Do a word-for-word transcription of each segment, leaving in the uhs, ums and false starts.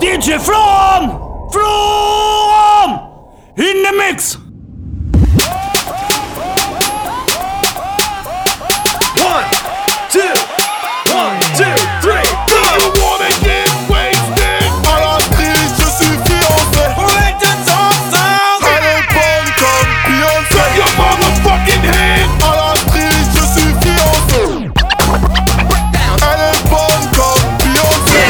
D J From! From! In the mix! One, two, one, two, three, go! You wanna get wasted? À la prise, je suis fiancé. Let the song sound. Elle est bonne comme Beyoncé. Put your motherfucking hand. À la prise, je suis fiancé. Elle est bonne comme Beyoncé.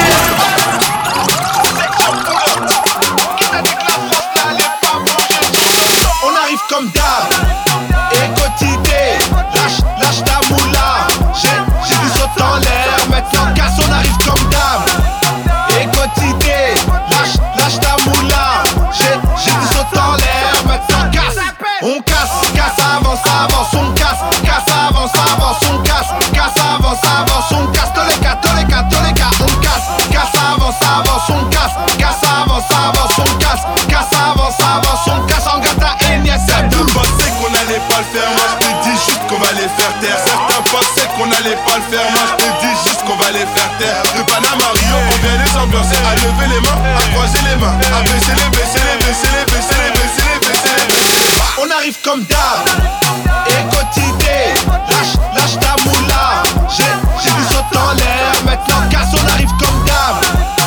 On arrive comme d'hab. Et quotidien, lâche, lâche ta moula. J'ai, j'ai du saut en l'air, maintenant casse, on arrive comme d'hab. Et quotidien, lâche, lâche ta moula. J'ai, j'ai du saut en l'air, maintenant casse. On casse, casse, avance, avance, on casse. Casse, avance, avance, on casse. Casse, avance, avance, on casse. Tous les cas, tous les cas, tous les cas, on casse. Casse, avance, avance, on casse. Casse, avance, avance, on casse. Casse, avance, avance, on casse. En gâte à Enya, certains pensaient qu'on allait pas le faire. Moi je te dis juste qu'on va les faire taire. Certains pensaient qu'on allait pas le faire. Moi je te dis juste qu'on va les faire taire. De Panama Rio, on vient les ambiancer. À lever les mains, à croiser les mains. À baisser les, baisser les, baisser les, baisser les, baisser les, baisser les, baisser les. On arrive comme d'hab. Et quotidien, lâche, lâche ta moula. J'ai, j'ai du saut en l'air. Maintenant casse, on arrive comme d'hab.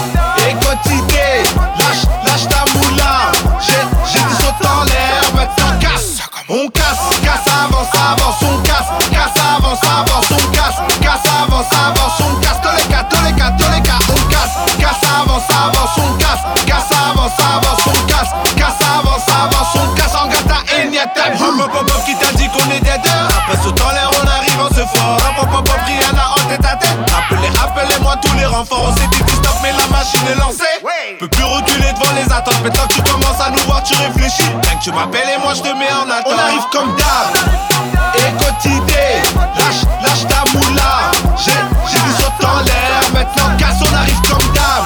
Et quotidien, lâche, lâche ta moula. J'ai, j'ai du saut en l'air. Maintenant casse. On casse, casse, avance, avance, on casse. Casse, avance, avance, on casse. Casse, avance, avance, on casse. Tous les cas, tous les cas, tous les cas, on casse. Casse, avance, avance, on casse. Casse, avance, avance, on casse. Casse, avance, avance, on casse. En gâte à Enya, t'as vu. Hop, hop, hop, qui t'a dit qu'on est des deux. Après saut en l'air, on arrive, on se fort. Hop, hop, hop, Rihanna en tête à tête. Appelez, appelez-moi tous les renforts. On s'est dit stop, mais la machine est lancée. Peux plus reculer devant les attentes. Maintenant que tu commences à nous voir, tu réfléchis. Rien que tu m'appelles et moi je te mets en attente. On arrive comme d'hab. Et quotidien, lâche, lâche ta moula. J'ai, j'ai du saut en l'air. Maintenant casse, on arrive comme d'hab.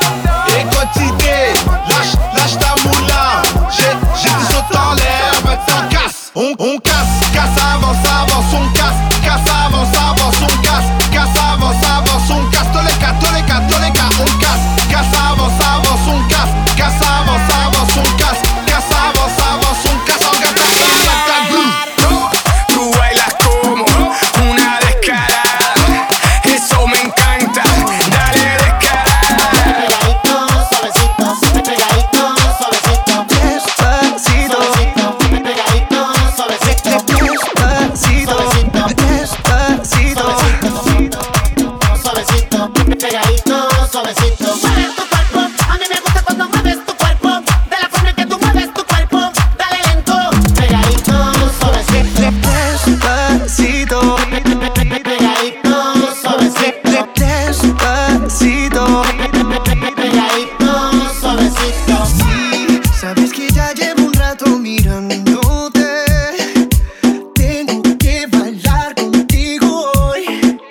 Et quotidien, lâche, lâche ta moula. J'ai, j'ai du saut en l'air. Maintenant casse. On, on casse, casse, avance, avance, on casse. Casse, avance, avance, on casse. Casse, avance, avance, on casse. Tous les cas, tous les cas, tous les cas, on casse. Casse, avance, avance, on casse. Casse, avance, avance, on casse. Casse, avance, avance, on casse. En gâte à Enya, t'as blue. Tú bailas como una descarada, eso me encanta, dale descarada. Pegadito, suavecito, pegadito, suavecito. Despacito, pegadito, suavecito. Despacito, despacito, suavecito, pegadito, suavecito. Mueve tu cuerpo, a mí me gusta cuando mueves tu cuerpo. De la forma en que tú mueves tu cuerpo, dale lento. Pegadito, suavecito. Despacito, pegadito, suavecito. Despacito, pegadito, suavecito. Sí, sabes que ya llevo un rato mirándote. Tengo que bailar contigo hoy.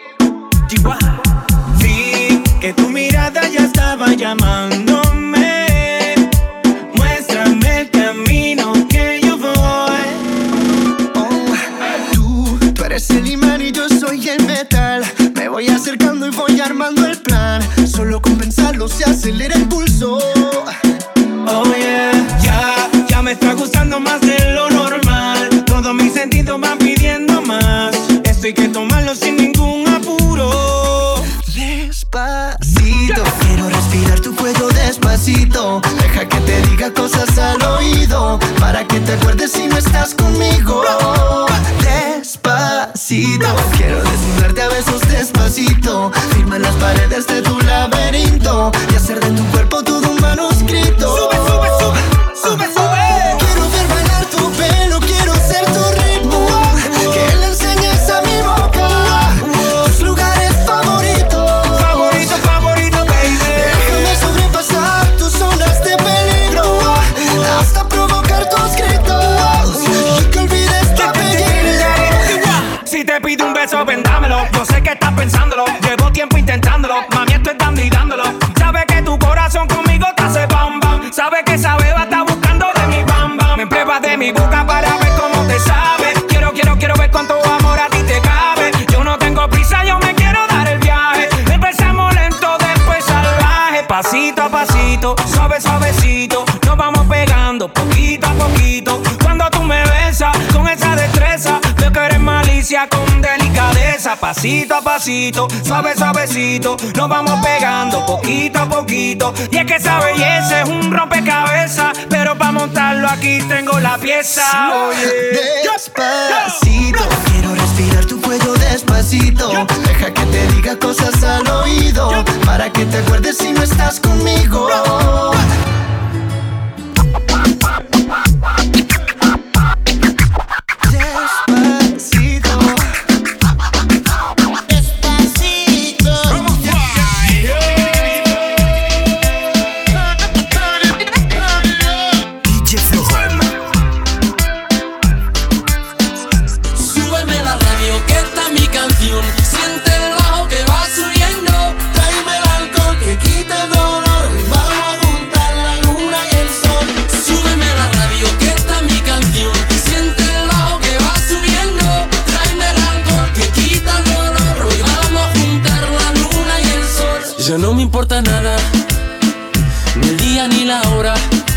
Vi que tu mirada ya estaba llamándome. Muéstrame el camino que yo voy. Oh, tú, tú eres el imán y yo soy el metal. Me voy acercando y voy armando el plan. Solo con pensarlo se acelera el pulso. Oh yeah, ya, ya me está gustando más de lo normal. Todos mis sentidos van pidiendo más. Esto hay que tomarlo sin ningún apuro. Despacito, quiero respirar tu cuello despacito. Deja que te diga cosas al oído, para que te acuerdes si no estás conmigo. Despacito, quiero desnudarte a besos despacito. Firma las paredes de tu laberinto y hacer de tu cuerpo todo un manuscrito. Sube, sube, sube, sube, sube. Quiero ver bailar tu pelo, quiero ser tu ritmo. Que le enseñes a mi boca tus lugares favoritos. Favorito, favorito, baby. Déjame sobrepasar tus zonas de peligro, hasta provocar tus gritos y que olvides tu apellido. Si te pido un beso, vendámelo. Yo sé que estás pensándolo. Llevo tiempo intentándolo. Mami, esto es dando y dándolo. Sabes que tu corazón conmigo te hace bam bam. Sabes que esa beba está buscando de mi bam bam. Me pruebas de mi boca para ver cómo te sabe. Quiero, quiero, quiero ver cuánto amor a ti te cabe. Yo no tengo prisa, yo me quiero dar el viaje. Empezamos lento, después salvaje. Pa' Pasito a pasito, suave suavecito, nos vamos pegando poquito a poquito. Cuando tú me besas con esa destreza, veo que eres malicia con delicadeza. Pasito a pasito, suave suavecito, nos vamos pegando poquito a poquito. Y es que esa belleza es un rompecabezas, pero para montarlo aquí tengo la pieza. Oye, despacito, quiero respirar tu cuello despacito. Deja que te diga cosas al oído, para que te acuerdes si no estás conmigo. Despacito, Despacito. D J Flow. Súbeme la radio que está mi canción. Siente el bajo que va subiendo. tráeme el alcohol que quita el dolor. Vamos a juntar la luna y el sol. Súbeme la radio que está mi canción. Siente el bajo que va subiendo. Tráeme el alcohol que quita el dolor. Hoy vamos a juntar la luna y el sol. Ya no me importa nada, ni el día ni la hora.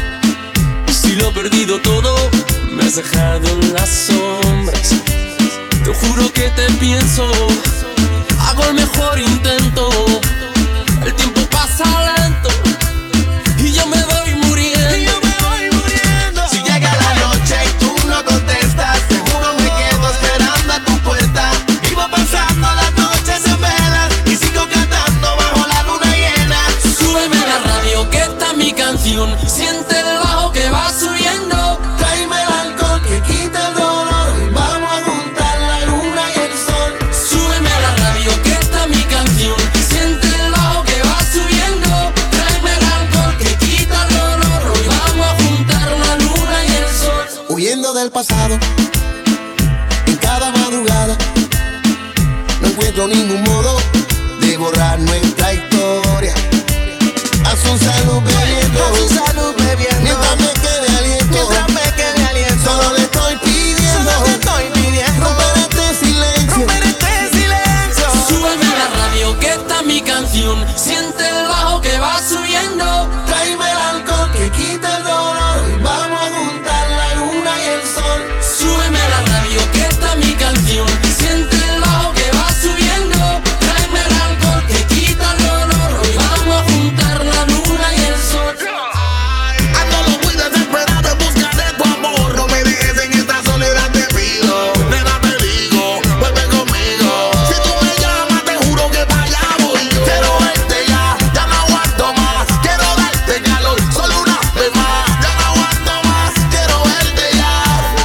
Si lo he perdido todo, me has dejado en las sombras. Te juro que te pienso, hago el mejor intento. El tiempo pasa lento y yo me voy muriendo. Y yo me voy muriendo. Si llega la noche y tú no contestas, seguro me quedo esperando a tu puerta. Vivo pasando las noches en velas y sigo cantando bajo la luna llena. Súbeme la radio que está mi canción. Siente el bajo que va subiendo. Tráeme el alcohol que quita el dolor. Vamos a juntar la luna y el sol. Súbeme la radio que está mi canción. Siente el bajo que va subiendo. Tráeme el alcohol que quita el dolor. Hoy vamos a juntar la luna y el sol. Huyendo del pasado, en cada madrugada, no encuentro ningún modo de borrar nuestra historia. Haz un salud bebiendo, haz un salud bebiendo, mientras me quede aliento, mientras me quede aliento. Solo le estoy pidiendo, solo le estoy pidiendo, romper este silencio, romper este silencio. Súbeme la radio que está mi canción. Siente el bajo que va subiendo. Tráeme el alcohol que quita el dolor. Vamos a juntar la luna y el sol. Súbeme la radio que está mi canción. Siente el bajo que va subiendo. Tráeme el alcohol que quita el dolor. Hoy vamos a juntar la luna y el sol. Ando muy desesperado en busca de tu amor. No me dejes en esta soledad, te pido. Nena, te digo, vuelve conmigo. Si tú me llamas, te juro que para allá voy yo. Quiero verte ya, ya no aguanto más. Quiero darte calor, solo una vez más. Ya no aguanto más, quiero verte ya.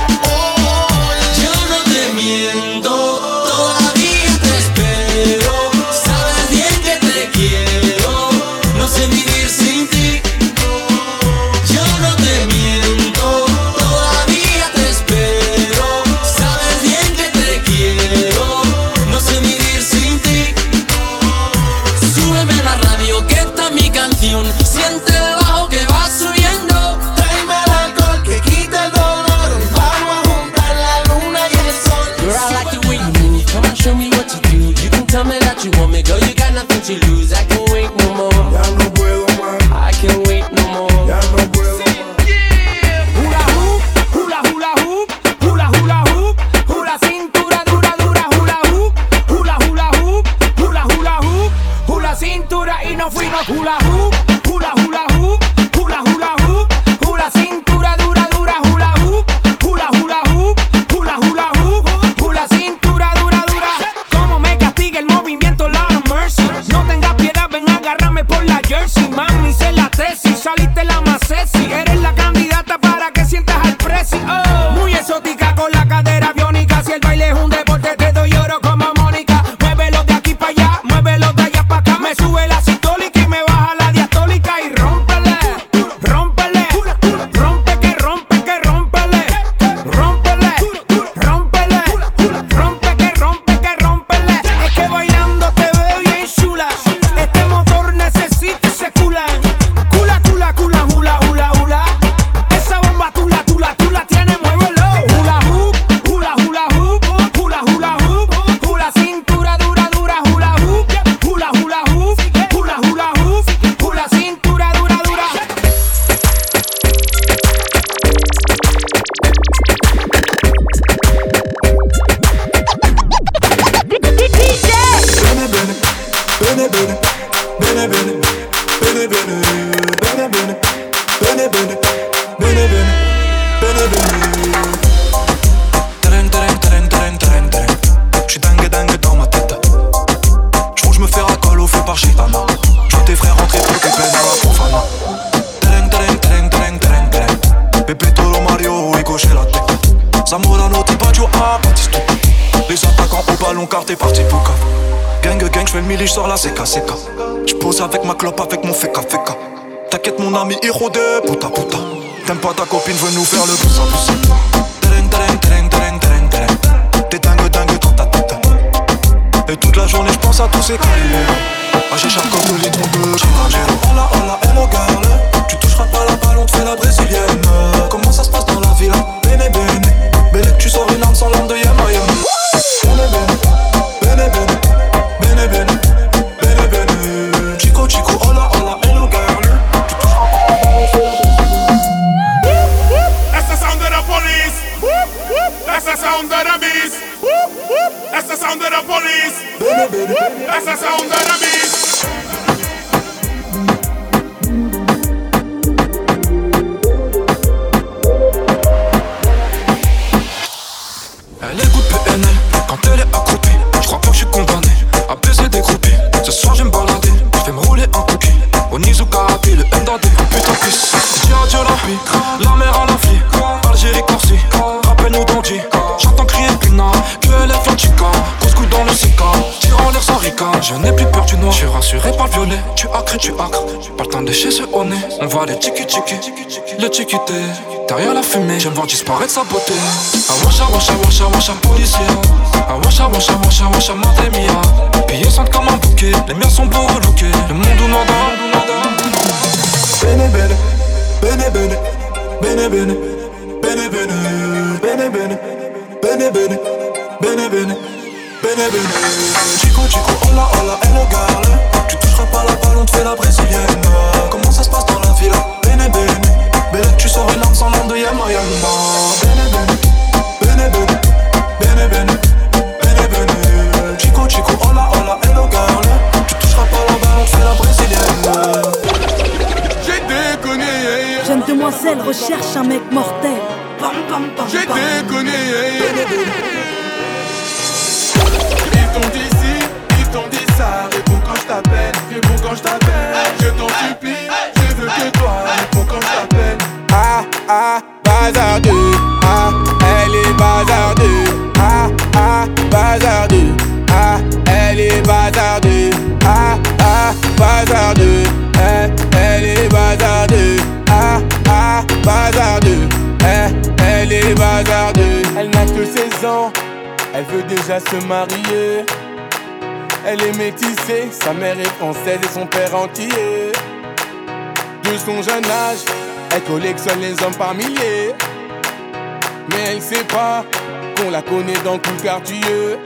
Oh, Yo no te miento, todavía te espero. Sabes bien que te quiero, no sé vivir sin ti. Yo no te miento, todavía te espero. Sabes bien que te quiero, no sé vivir sin ti. Súbeme la radio que está mi canción. Siente el bajo que va subiendo. Tráeme el alcohol que quita el dolor. Vamos a juntar la luna y el sol. Girl, I like the way you move. Come on, show me what you do. You can tell me that you want me, girl. You got nothing to lose. I can't wait no more. ya no puedo más, I can't wait no more. ya no puedo más. hula hoop, hula hula hoop, hula hula hoop, hula cintura dura dura hula hoop, hula hula hoop, hula hula hoop, hula cintura y nos fuimos hula hoop, hula hula hoop, hula hula hoop, hula cintura dura dura hula hoop, hula hula hoop, hula hula hoop, hula cintura dura dura. Como me castiga el movimiento Lord of Mercy. No tengas piedad, ven a agarrarme por la jersey. Mami, sé la tesis, saliste la más sexy. Eres la candidata para que sientas al presi. Oh. Muy exótica con la cadera biónica. Si el baile es un deporte, te doy oro como Mónica. Muévelo de aquí para allá, muévelo de allá para acá. Me sube la sistólica y me baja la diastólica. Y rómpele, rómpele, rompe que rompe que rómpele, rómpele, rómpele, rompe que rompe que rómpele. Es que bailando te veo bien chula. Este motor necesita ese cula. t'es parti pour cap. Gang gang, j'fais le milli, j'sors la C K C K. J'pose avec ma clope, avec mon feka feka. T'inquiète mon ami, héros de puta puta. T'aimes pas ta copine, veut nous faire le poussa poussa. Tereng tereng tereng tereng tereng tereng. T'es dingue dingue, trop ta tête. Et toute la journée j'pense à tous ces calibres. Ah j'échappe comme le litre de hola hola hello girl. Tu toucheras pas la balle, on te fait la brésilienne. Comment ça se passe dans la ville? Bene bene. Bene tu sors une arme sans l'arme de Yama Yama. Bene bene. Bene bene. Bene bene bene. Chico chico hola hola hello girl. Tu toucheras pas la balle, on te fait la brésilienne. That's the sound of the police. That's the sound of the beast. That's the sound of the police. That's the sound of the beast. Elle écoute P N L quand elle est accroupie. J'crois pas que j'suis condamné à baiser des groupies. Ce soir j'aime balader, j'vais me rouler un cookie. Au Nizuka Happy, le M D D, putain pisse. Dia Dia la vie, la mer à la vie. Algérie Corsi, rappelle-nous d'Andy. J'entends crier Puna, que elle est Flanchica. Couscous dans le Sika, tire en l'air sans rica. Je n'ai plus peur du noir, j'suis rassuré par le violet. Tu acres, tu acres, pas le temps de chez ce au nez. On va les tiki tiki, le tiki-té. Derrière la fumée, j'aime voir disparaître sa beauté. Ah washa washa washa washa policier. Ah washa washa washa washa madre mia. Pillés sentent comme un bouquet, les miens sont beaux relookés. Le monde ou nada. Bene bene, bene bene, bene bene, bene bene, bene bene, bene bene, bene bene, bene bene. Chico chico hola hola hello girl. Tu toucheras pas la balle, on te fait la brésilienne. Comment ça se passe dans la ville? Bene bene. Bene, tu sors une arme sans l'arme de Yama Yama. Bene bene, bene bene, bene bene, bene bene. Chico chico hola hola hello girl. Tu toucheras pas la balle, on te fait la brésilienne. J'ai déconné. Jeune demoiselle recherche un mec mortel. Pam, pam, pam, J'ai pam. déconné. Ils t'ont dit ci, ils t'ont dit ça. Réponds quand je t'appelle, réponds quand je t'appelle. Je t'en supplie, je veux que toi. Réponds quand je t'appelle. Ah ah, bazardeux. Ah, elle est bazardeux. Ah ah, bazardeux. Ah, elle est bazardeux. Ah ah, bazardeux. Eh, elle est bazardeux. Ah ah, bazardeux. Eh, elle est bazardeux. Elle n'a que seize ans. Elle veut déjà se marier. Elle est métissée. Sa mère est française et son père antillais. De son jeune âge, elle collectionne les hommes par milliers. Mais elle sait pas qu'on la connaît dans tout le quartier.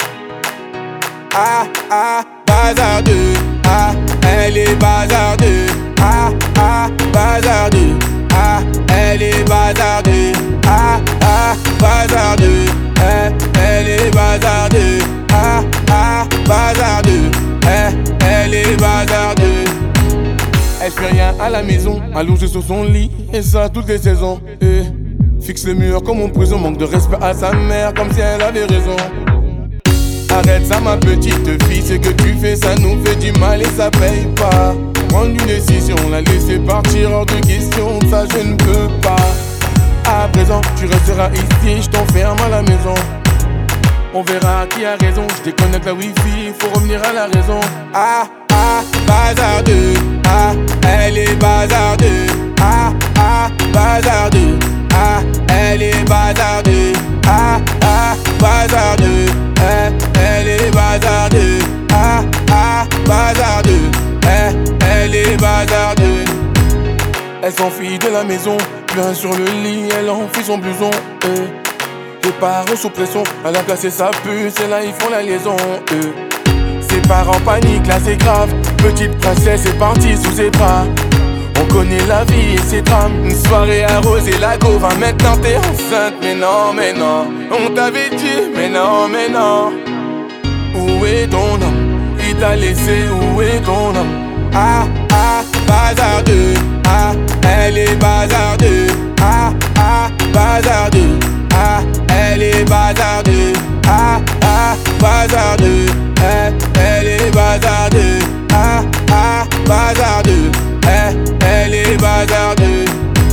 Ah ah, bazardeux. Ah, elle est bazardeux. Ah ah, bazardeux. Ah, elle est bazardeux. Ah ah, bazardeux. Eh, elle est bazardeux. Ah ah, bazardeux. Eh, elle est bazardeux. Elle fait rien à la maison, allongée sur son lit, et ça toutes les saisons. Et fixe le mur comme en prison, manque de respect à sa mère, comme si elle avait raison. Arrête ça ma petite fille, ce que tu fais ça nous fait du mal et ça paye pas. Prendre une décision, la laisser partir hors de question, ça je ne peux pas. À présent tu resteras ici, je t'enferme à la maison. On verra qui a raison, je déconnecte la wifi, faut revenir à la raison. Ah ah, bazardeux. Ah, elle est bazardeux. Ah ah, bazardeux. Ah, elle est bazardeux. Ah ah, bazardeux. Eh, elle est bazardeux. Ah ah, bazardeux. Eh, elle est bazardeux. Elle s'enfuit de la maison, bien sur le lit, elle enfuit son blouson. Eh, les parents sous pression, elle a placé sa puce, et là ils font la liaison. Eh. Ses parents paniquent, là c'est grave. Petite princesse est partie sous ses bras. On connaît la vie et ses drames. Une soirée arrosée, la go va maintenant t'es enceinte. Mais non, mais non, on t'avait dit. Mais non, mais non. Où est ton homme? Il t'a laissé, où est ton homme? Ah, ah, bazardeux. Ah, elle est bazardeux. Ah, ah, bazardeux. Ah, elle est bazardeux. Ah, ah, bazardeux. Eh, elle est bazardeux. Ah, ah, bazardeux. Eh, elle est bazardeux.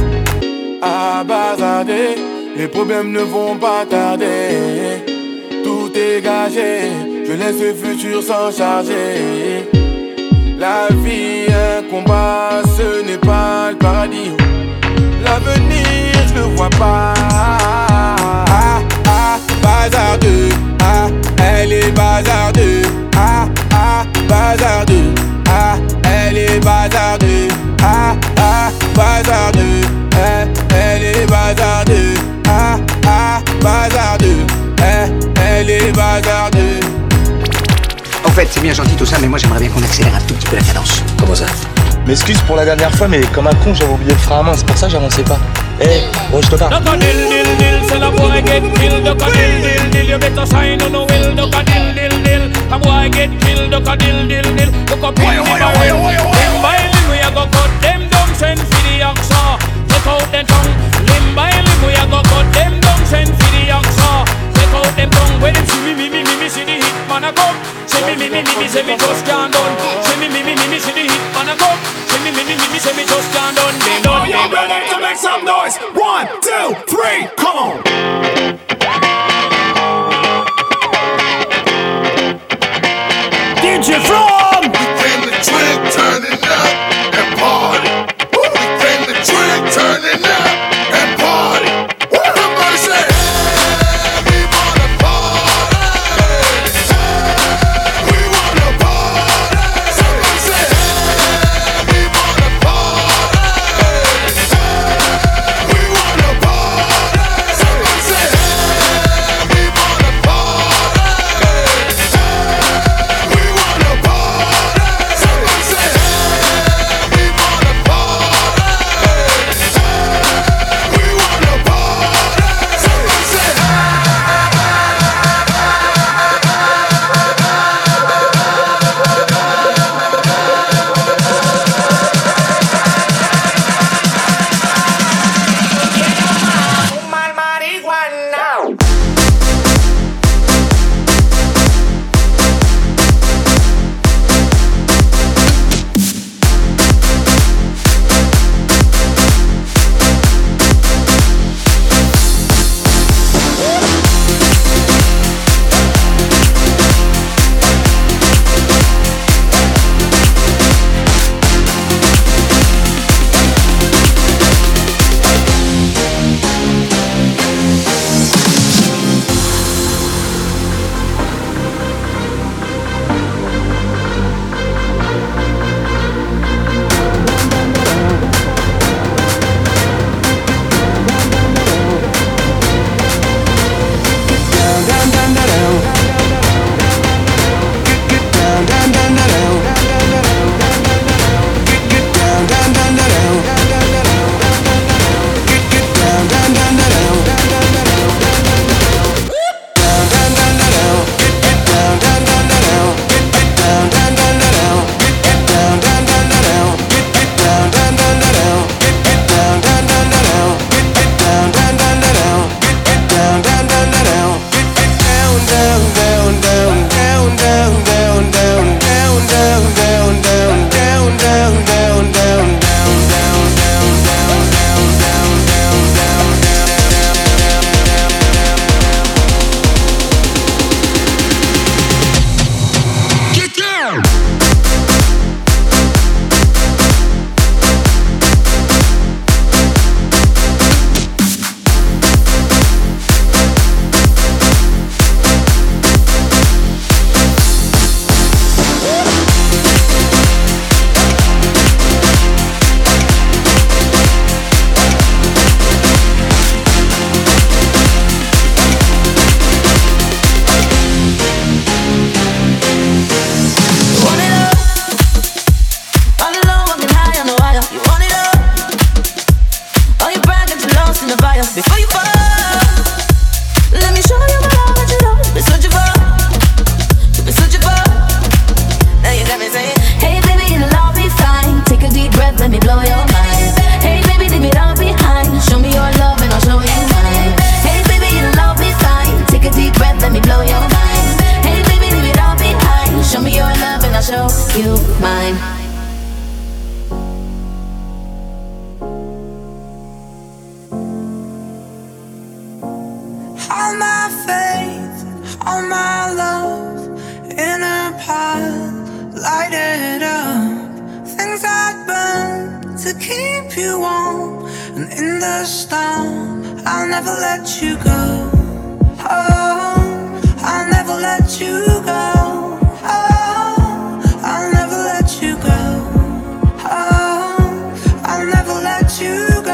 Ah, bazardeux. Les problèmes ne vont pas tarder. Tout est gâché. Je laisse le futur s'en charger. La vie, un combat, ce n'est pas le paradis. L'avenir, je le vois pas. Ah, ah, bazardeux. Ah, elle est bazardeux. Ah, ah, bazardeux. Ah, elle est bazardeux. Ah, ah, bazardeux. Eh, elle est bazardeux. Ah, ah, bazardeux. Eh, elle est bazardeux. En fait, c'est bien gentil tout ça, mais moi j'aimerais bien qu'on accélère un tout petit peu la cadence. Comment ça? M'excuse pour la dernière fois, mais comme un con, j'avais oublié le frein à main, c'est pour ça que j'avançais pas. Eh, hey, oh, je te parle. Out them tongue when them see me, me, me, me, me, see the hit man a come. See me, me, me, me, me, say me just can't done. See me, me, me, me, me, see the hit man a come. See me, me, me, me, me, say me just can't done. They done, they done. Ready to make some noise? One, two, three, come on. D J From! We came to drink, turning up and party. We came to drink, turning up and party. Somebody say. All my faith, all my love lighted up. Things I'd burn to keep you warm. And in the storm, I'll never let you go. Oh, I'll never let you go. Oh, I'll never let you go. Oh, I'll never let you go.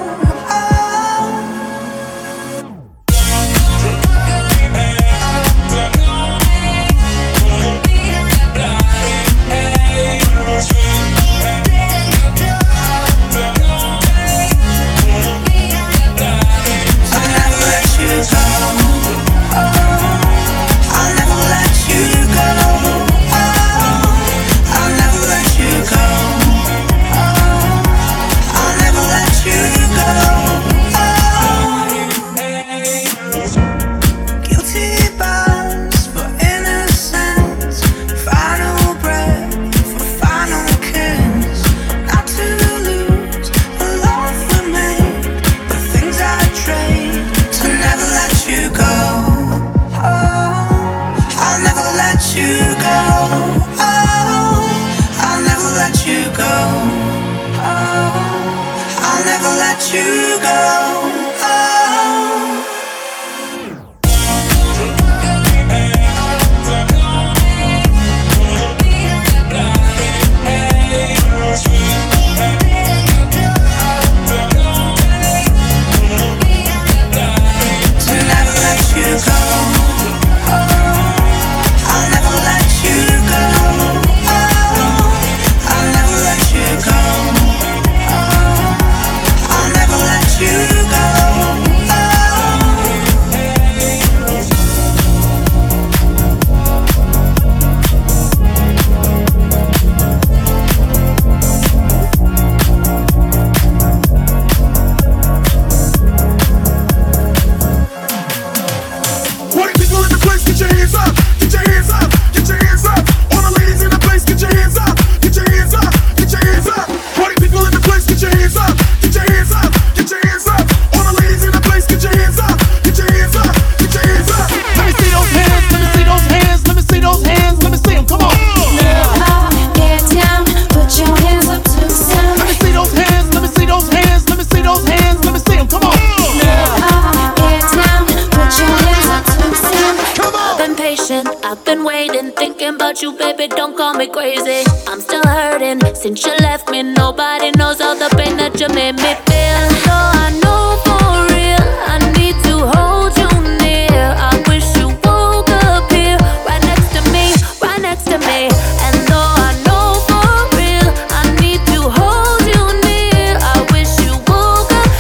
I've been waiting, thinking about you, baby, don't call me crazy. I'm still hurting, since you left me. Nobody knows all the pain that you made me feel. So I know for real, I need to hold you near. I wish you woke up here, right next to me, right next to me. And though I know for real, I need to hold you near. I wish you woke up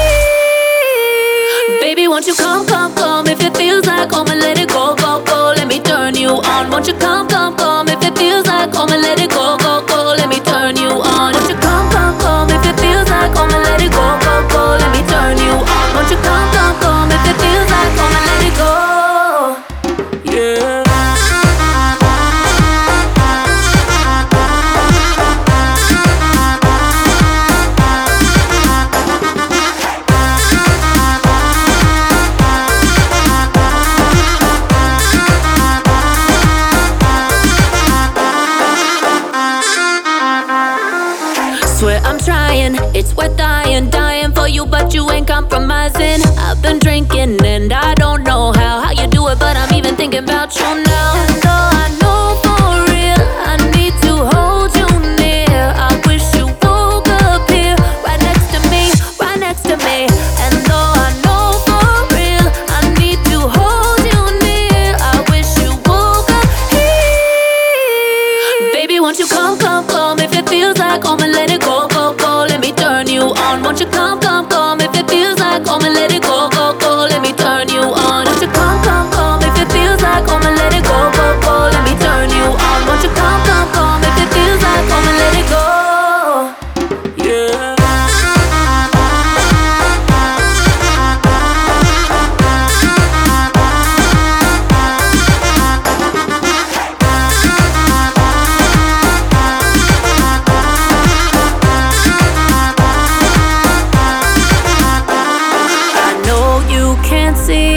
here. Baby, won't you come, come, come? If it feels like home and let it go, go, go. Let me turn you on. Won't you come, come, come? If it feels like home and let it go, go, go. Let me turn you on. Won't you come, come, come? If it feels like home and let it go, go, go. Let me turn you on. Won't you come, come, come? If it feels like home and let it go. Yeah. Swear I'm trying, it's worth dying, dying for you, but you ain't compromising. I've been drinking and I don't know how, how you do it, but I'm even thinking about you now. And though I know for real, I need to hold you near. I wish you woke up here, right next to me, right next to me. And though I know for real, I need to hold you near. I wish you woke up here. Baby, won't you come, come, come? If it feels like home and let it go, go, go. Let me turn you on. Won't you come, come, come? If it feels like home and let it go, go, go. Let me turn you on. Won't you come, come, come? If it feels like home and let it go, go, go. Let me turn you on. Won't you come, come, come? If it feels like home and let it go. Yeah.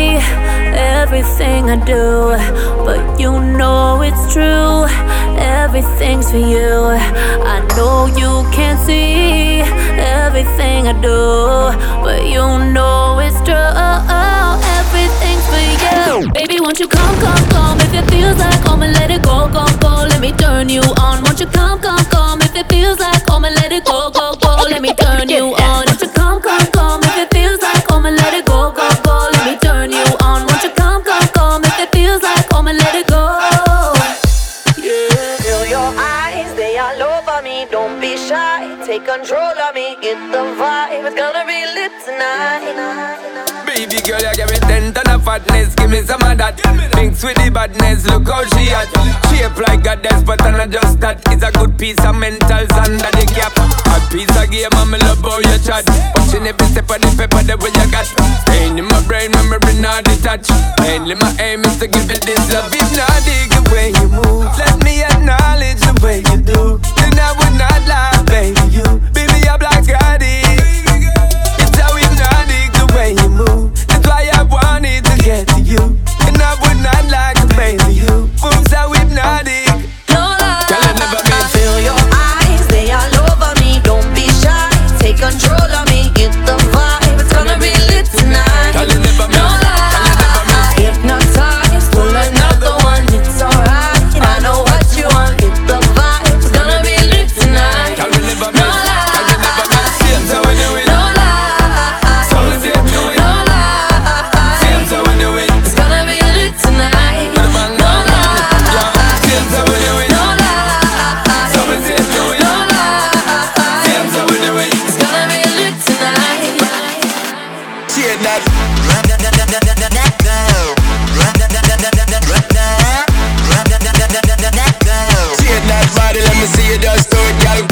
Everything I do, but you know it's true. everything's for you. I know you can't see everything I do, but you know it's true. Everything's for you. Baby, won't you come, come, come? If it feels like home and let it go, go, go. Let me turn you on. Won't you come, come, come? If it feels like home and let it go, go, go. Let me turn you on. Won't you come, come, come? If it feels like home and let it go, go, go. Let me turn you on. Won't you come, come, come? If it feels like home and let it go. Yeah. Feel your eyes, they all over me. Don't be shy, take control of me. Get the vibe, it's gonna be lit tonight. Baby girl, you give me ten ton of fatness. Give me some of that. Mix with the badness, look how she at. Shape like a goddess, but I'm not just that. It's a good piece of mentals under the cap. A piece of game, I'm in love how you chat. Watching every step of the paper, the way you got. Staying in my brain, memory not detached. Mainly my aim is to give you this love. If not, dig the way you move. Let me acknowledge the way you do. Then I would not lie, baby, you. Baby, I'm like Gotti. It's how hypnotic the way you move. That's why I wanted to get to you. And I would not like to baby you. Boom, so hypnotic. No lie. Feel your eyes, they all over me. Don't be shy, take control of me. Get the vibe, it's gonna be lit tonight. No lie. Hypnotized, pull another one. It's alright. I know what you want. Get the vibe, it's gonna be lit tonight. No lie. No lie. It's gonna be lit tonight. No lie. No lie. It's gonna be lit tonight. Cheer that. Cheer that body, let me see you just do it, girl.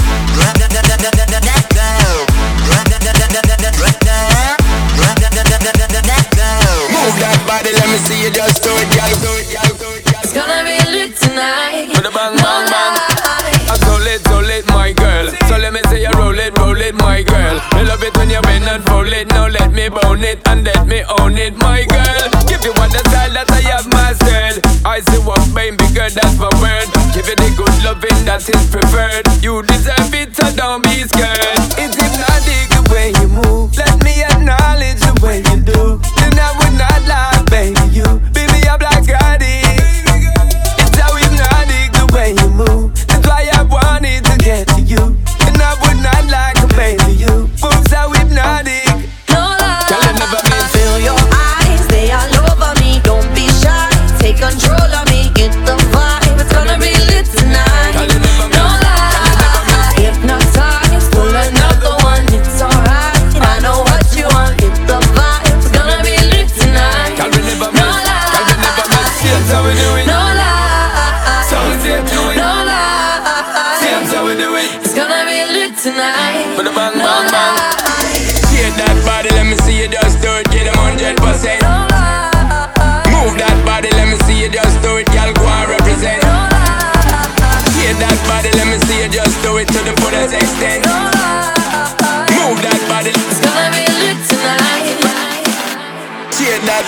Move that body, let me see you just do it, girl. It's gonna be lit tonight. With a bang, bang, bang. I'm so lit, so lit, my girl. So let me say you roll it, roll it, my girl. I love it when you bend and roll it. Now let me bone it and let me own it, my girl. Give you one the style that I have mastered. I see what baby girl, that's my word. Give you the good loving that is preferred. You deserve it, so don't be scared. It's hypnotic the way you move. Let me acknowledge the way you do. Then I would not lie, baby, you. Baby, I'm like Gotti. It's how hypnotic the way you move. That's why I wanted to get to you. And I would not like to baby you. Boom, so hypnotic. No lie. Feel your eyes, they all over me. Don't be shy, take control of me. Get the vibe, it's gonna be lit tonight. No lie. Hypnotized, pull another one. It's alright. I know what you want. Get the vibe, it's gonna be lit tonight. No lie. So we do it. No lie. So we do it. No lie. So we do it. It's gonna be lit tonight. With a bang, bang, bang. Shake that body, let me see you just do it. Get them hundred percent. Move that body, let me see you just do it. Y'all go and represent. Shake that body, let me see you just do it to the fullest extent. Move that body. It's gonna be lit tonight. Shake that.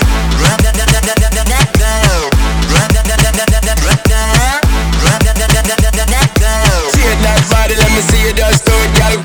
Shake that body, let me see you just do it, girl.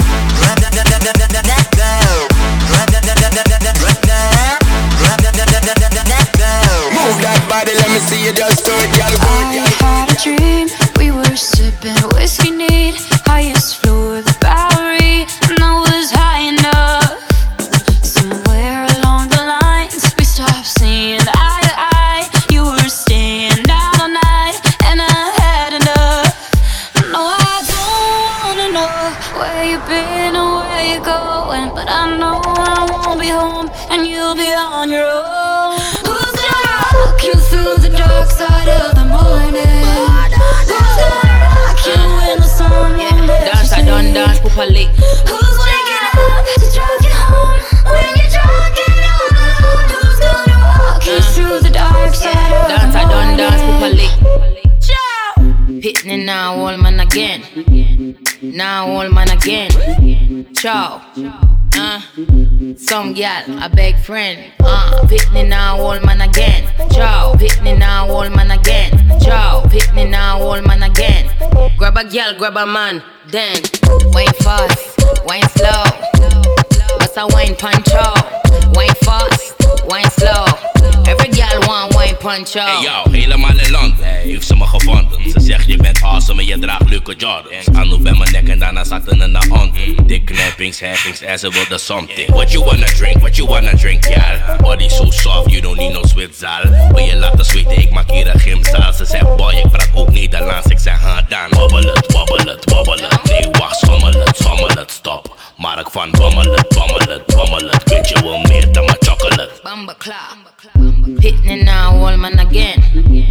Move that body, let me see you just do it, girl. I had a dream, we were sipping whiskey neat, highest floor of the Bowery, and I was high enough. Somewhere along the lines, we stopped seeing eye to eye. You were staying out all night, and I had enough. No, I don't wanna know where you've been or where you're going, but I know I won't be home, and you'll be on your own. Who's gonna rock you through the dark side of the morning? Who's gonna rock you when the sun won't let Dance, you I done sleep? dance properly. Who's waking up to drive you home when you're drunk and all alone? Who's gonna walk you through the dark side of Dance, the I done dance morning? properly. Hitting it now, old man again. Now, old man again. Ciao. Uh, some gal, a big friend. Uh, pick me now, old man again. Joe, pick me now, old man again. Joe, pick me now, old man again. Grab a gal, grab a man, then wine fast, wine slow. What's a wine puncho? Wine fast, wine slow. Every gal want wine puncho. Hey yo, helemaal in land, heeft ze me gevonden. Ze zegt je bent awesome en je draagt leuke Jordans. Anouk bij mijn nek en daarna zaten in de hand. Dik knappings, happings en ze wilde something. What you wanna drink, what you wanna drink, gal? Body so soft, you don't need no zwitzaal. Wil je laten zweten, ik maak hier een gymzaal. Ze zegt boy, ik praat ook Nederlands, ik zeg ha dan. Wobbel het, wobbel het, wobbel het. Nee wacht, schommel het, schommel het, stop. Mark van bommel het, bommel het, bommel het. Weet je wel meer dan mijn chocolate. Bamba clap. Hitting now, old man again.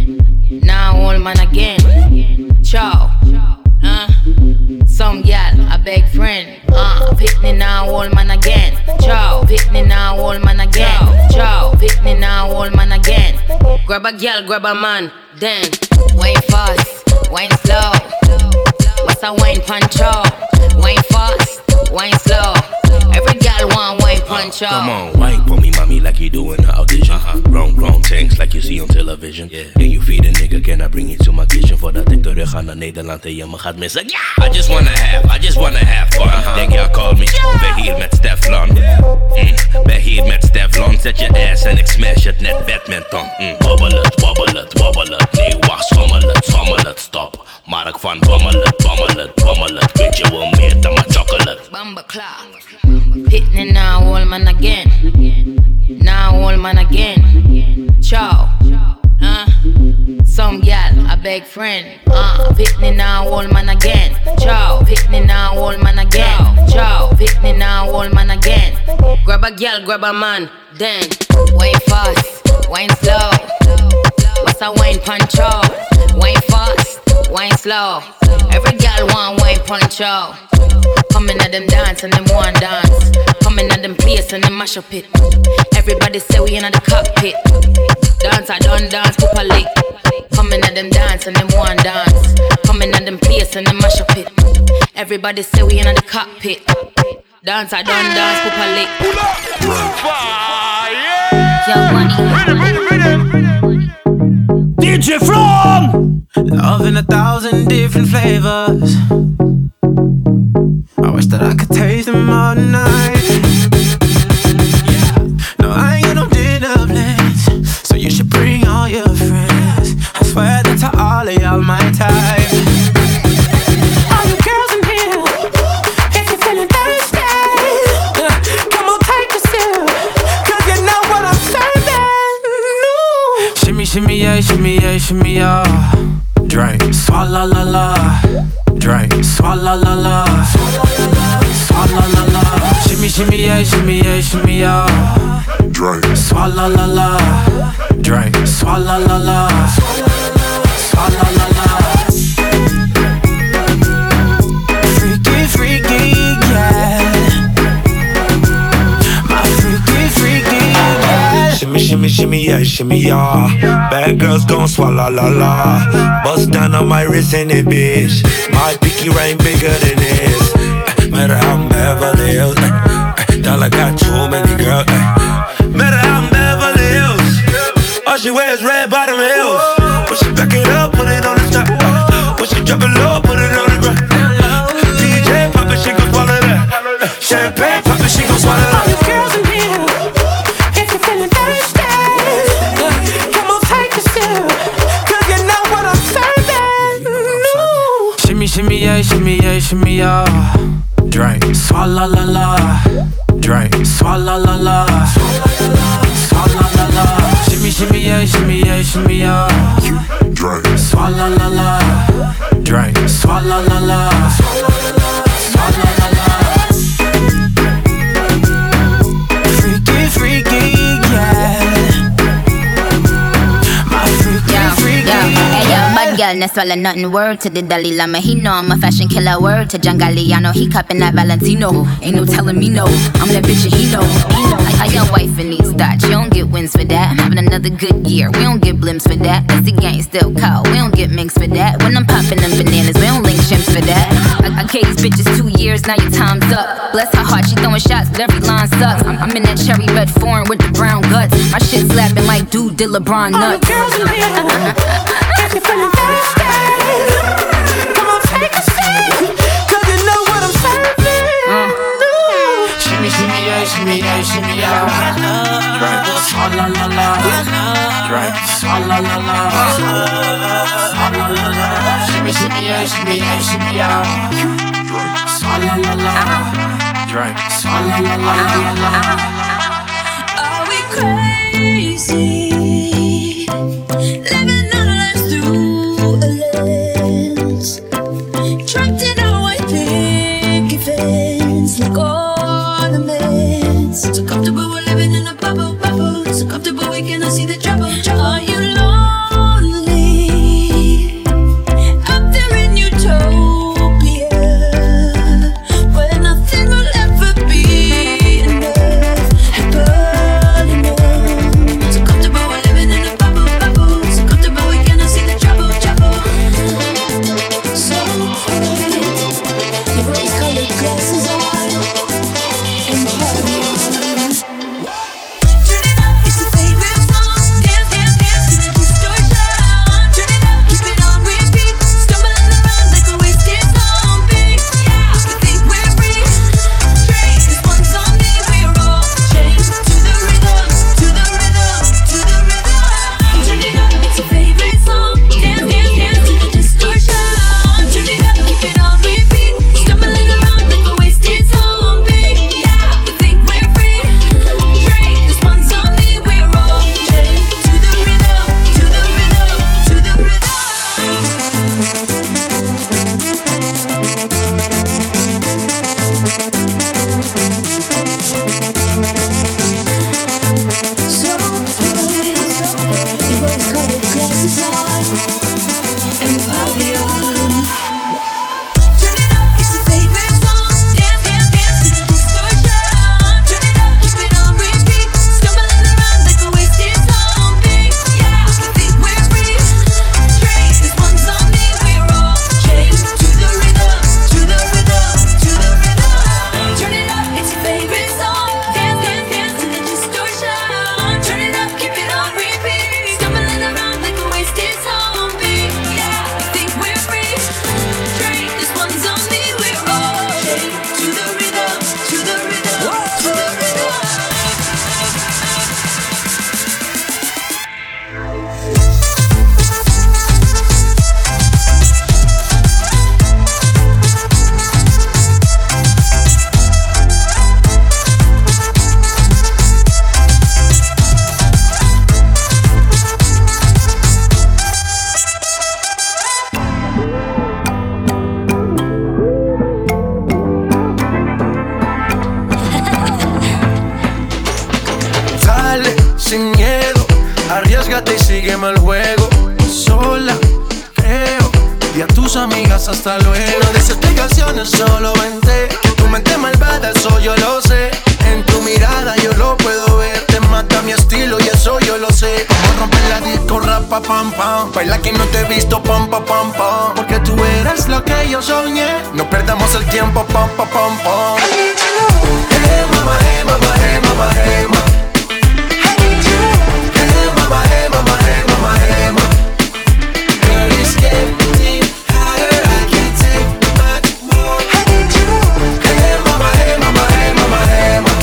Now, old man again. Ciao. Uh, some gal, a big friend. Uh, pick me now, old man again. Ciao. Pick me now, old man again. Ciao. Pick me now, old man again. Grab a gal, grab a man, then wine fast, wine slow. What's a wine puncho? Wine fast, wine slow. Every gal want wine puncho. Come on, wine for me, mommy, like you do in the audition. Uh-huh. Round, round tanks like you see on television. Yeah. Can you feed a nigga? Can I bring you to my kitchen? Voordat ik terug ga naar Nederland en je me gaat missen. Yeah! I just wanna have, I just wanna have fun. Uh-huh. Denk jij call me, ben hier met Steflon. Mm. Ben hier met Steflon. Zet je ass en ik smash het net badminton. Mm. Wobbel het, wobbel het, wobbel het. Nee, wacht, schommel het, schommel het, stop. Mark van bommel het, bommel het, bommel het. Weet je wel meer dan mijn chocolate. Bamba clap. Hitting now, old man again. Now, old man again. Ciao. Uh, some gal, a big friend. Uh, pick me now, old man again. Ciao. Pick me now, old man again. Ciao. Pick me now, old man again. Grab a gal, grab a man, then wine fast, wine slow. What's a wine puncho? Wine fast, wine slow. Every gal want wine puncho. Coming at them dance and them one dance. Coming at them place and them mash up it. Everybody say we in the cockpit. Dance I done dance properly. Coming at them dance and them one dance. Coming at them place and them mash up it. Everybody say we in the cockpit. Dance I done dance properly. D J From! Love in a thousand different flavors. I wish that I could taste them all night. No, I ain't got no dinner plans, so you should bring all your friends. I swear that to all of y'all my type. All you girls in here, if you're feeling thirsty, come on take a sip, cause you know what I'm serving. No. Shimmy, shimmy, yeah, shimmy, yeah, shimmy, yeah. Drink, swalla la la. Drink, swalla la la. Swalla la la. Shimmy, shimmy, yeah, shimmy, yeah, shimmy, yeah. Drink, swalla la la. Drink, swalla la la. Swalla la la. Freaky, freaky, yeah. My freaky, freaky, yeah. Shimmy, shimmy, shimmy, yeah, shimmy, yeah. Bad girls gon' swallow la la. Bust down on my wrist in it, bitch. My pinky ring bigger than this. Uh, matter how I'm Beverly Hills. Uh, uh, dollar got too many girls. Uh, matter how I'm Beverly Hills. All she wears red bottom heels. When she back it up, put it on the top. Uh, when she drop it low, put it on the ground. Uh, D J pop it, she gon' swallow that. Uh, champagne pop it, she gon' swallow that. All you girls in here, if you're feeling thirsty, come on take a sip, cause you know what I'm serving. No. Shimmy, shimmy, yeah, shimmy, yeah, shimmy, yeah. Drink, swalla la la. Drink, swalla la la. Swalla la la. Shimmy, shimmy, yeah, shimmy, yeah, shimmy, yeah. Drink, swalla la la. Drink, swalla la la. Swalla la la. Freaky, freaky, yeah. My freaky, yo, freaky, yo, hey, yo, yeah. bad girl, no swallow nothing. Word to the Dalai Lama, he know I'm a fashion killer. Word to John Galliano, he cupping that Valentino. Ain't no telling me no, I'm that bitch and he know. Like how your wife in these thoughts, you don't get wins for that. I'm having another good year, we don't get blimps for that. Cause the gang still cold, we don't get minks for that. When I'm popping them bananas, we don't link chimps for that. I, I I gave these bitches two years, now your time's up. Bless her heart, she throwing shots, but every line sucks. I'm, I'm in that cherry red foreign with the brown guts. My shit slapping like dude did LeBron nuts. All the girls in here, if you're feeling thirsty, come on, take a sip, cause you know what I'm serving. Mm. Shimmy, shimmy, yeah, shimmy, yeah, shimmy, yeah. Right. Ah, la, la, la. Right. Ah, la, la, la. Ah, la, la, la. Shimmy, shimmy, yeah, shimmy, yeah, shimmy, yeah. Ah, la, la, la. Right. Ah, la, la, la, la, la. Are we crazy? Living our lives through a lens. Trapped in our white picket fence, like ornaments. So comfortable we're living in a bubble, bubble. So comfortable we cannot see the trouble, trouble. Are you lonely? Up there in utopia, where nothing will ever be enough, but enough. So comfortable we're living in a bubble, bubble. So comfortable we cannot see the trouble, trouble. So quiet, your rose-colored glasses on, and party on. Turn it up, it's your favorite song. Dance, dance, dance to the distortion. Turn it up, keep it on repeat. Stumbling around like a wasted zombie. Yeah, we think we're free. Drink this one song, then we're all chained to the rhythm, to the rhythm, to the rhythm. Turn it up, it's your favorite song. Dance, dance, dance to the distortion. Turn it up, keep it on repeat. Stumbling around like a wasted zombie. Yeah, we think we're free. Drink this one song, then we're all chained to the rhythm, to the rhythm, to the rhythm. So good, your rose-colored glasses on, and party on. Turn it up, it's your favorite song. Dance, dance, dance to the distortion. Turn it up, keep it on repeat. Stumbling around like a wasted zombie. Yeah, we think we're free. Drink this one song, then we're all chained to the rhythm, to the rhythm, to the rhythm. Turn it up, it's your favorite song. Dance, dance, dance to the distortion. Turn it up, keep it on repeat. Stumbling around like a wasted zombie. Yeah, we think we're free. Drink this one song, then we're all chained to the rhythm, to the rhythm, to the rhythm. Dale, sin miedo, arriésgate y sígueme el juego. Sola, creo, y a tus amigas hasta luego. No des explicaciones, solo vente. Que tu mente malvada, eso yo lo sé. En tu mirada yo lo puedo ver. Te mata mi estilo y eso yo lo sé. Vamos a romper la disco, rapa, pam, pam. Baila que no te he visto, pam, pam, pam, pam. Porque tú eres lo que yo soñé. No perdamos el tiempo, pam, pam, pam, pam. Hey, mama, hey, mama, hey, mama, hey, mama. Hey, mama, hey, mama, hey, mama, hey, mama. Girl, it's getting hotter, I can't take much more. Hey, mama, hey, mama, hey, mama, hey, mama.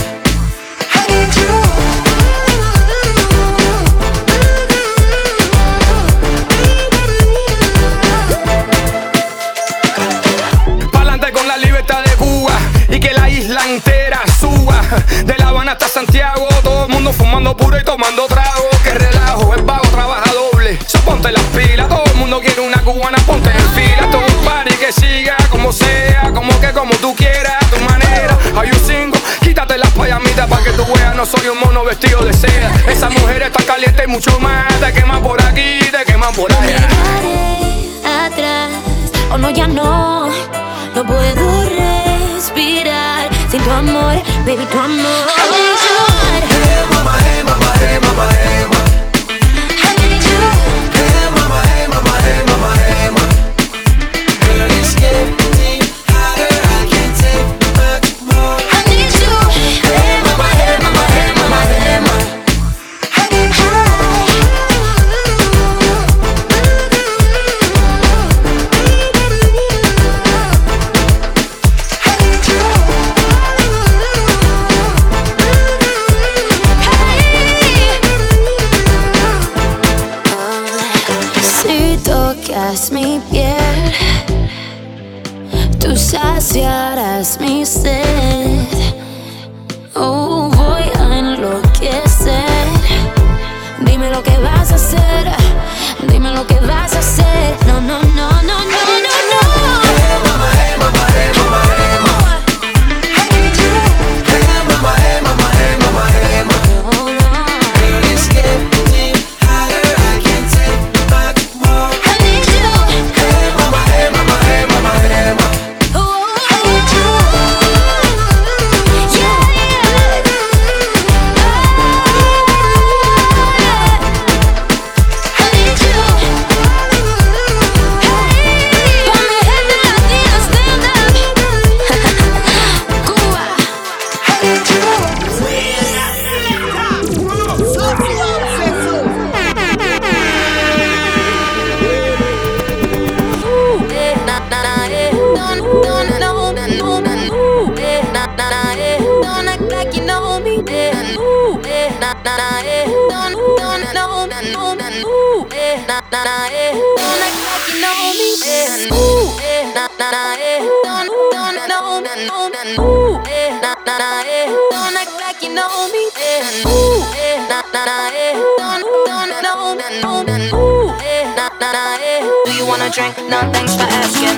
Pa'lante con la libertad de Cuba y que la isla entera suba. De La Habana hasta Santiago, todo el mundo fumando puro y tomando trago. Que relajo, el vago trabaja doble. So ponte las pilas, todo el mundo quiere una cubana, ponte en fila. Todo un party que siga como sea, como que como tú quieras, a tu manera. Hay un single, quítate las payamitas pa' que tú veas, no soy un mono vestido de seda. Esa mujer está caliente y mucho más. Te queman por aquí, te queman por allá. Atrás, o no, ya no, no puedo respirar sin tu amor, baby, tu amor. I need you. Hey, mama, hey, mama, hey, mama, hey, mama. I need you. Hey, mama, hey, mama, hey, mama, hey, mama. Girl, it's getting hot, saciarás mi sed. Oh, voy a enloquecer. Dime lo que vas a hacer. Dime lo que vas a hacer. No, no, no, no, no, no, no. Hey mama, hey mama, hey mama, hey mama. I need you. Hey mama, hey mama, hey mama, hey mama. Girl, it's getting higher. I can't take back more. I need you. Hey mama, hey mama, hey mama, hey mama. I need you. Yeah, yeah. I need you. Hey, pa' mi gente latina, stand up. Cuba. I need you. Don't act like you know me. Don't act like you know me. Do you wanna drink? No, thanks for asking.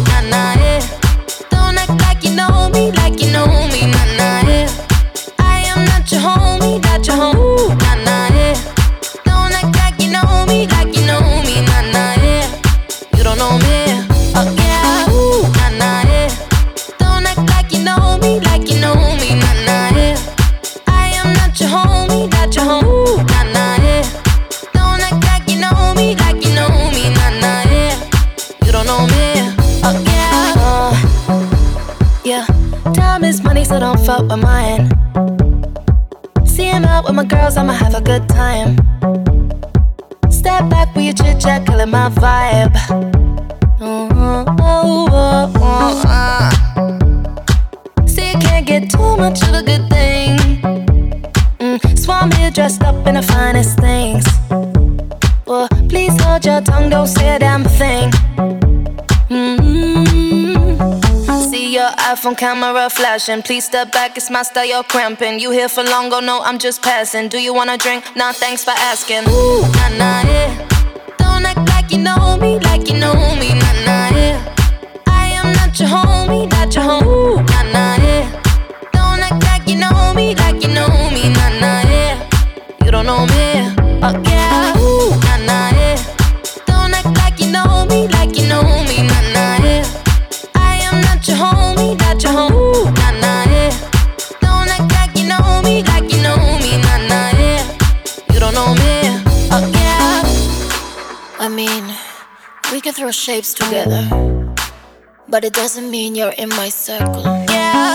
Don't act like you know me, like you know me, nah nah yeah. I am not your homie, not your homie, nah nah yeah. Don't act like you know me, like you know me, nah nah yeah. You don't know me, oh yeah, ooh, nah nah yeah. Don't act like you know me, like you know me, nah nah yeah. I am not your homie, not your homie, nah nah yeah. Don't act like you know me, like you know me, nah nah yeah. You don't know me, oh yeah. Uh, Yeah, time is money, so don't fuck with mine. See him out with my girls, I'ma have a good time. Step back with your chit chat, killing my vibe. Oh, oh, oh, oh, uh. See, you can't get too much of a good thing. Mm, so I'm here dressed up in the finest things. Well, please hold your tongue, don't say a damn thing. Mm-hmm. See your iPhone camera flashing. Please step back, it's my style, you're cramping. You here for long, oh no, I'm just passing. Do you wanna drink? Nah, thanks for asking. Ooh, nah, nah, yeah. Don't act like you know me, like you know me, nah, nah, yeah. I am not your homie, not your homie, nah, nah, yeah. Don't act like you know me, like you know me, nah, nah, yeah. You don't know me, oh yeah, ooh, nah, nah, yeah. Don't act like you know me, like you know me, nah, nah, yeah. Not your homie, not your homie, nah nah yeah. Don't act like you know me, like you know me, nah nah yeah. You don't know me, oh yeah. I mean, we can throw shapes together, but it doesn't mean you're in my circle. Yeah.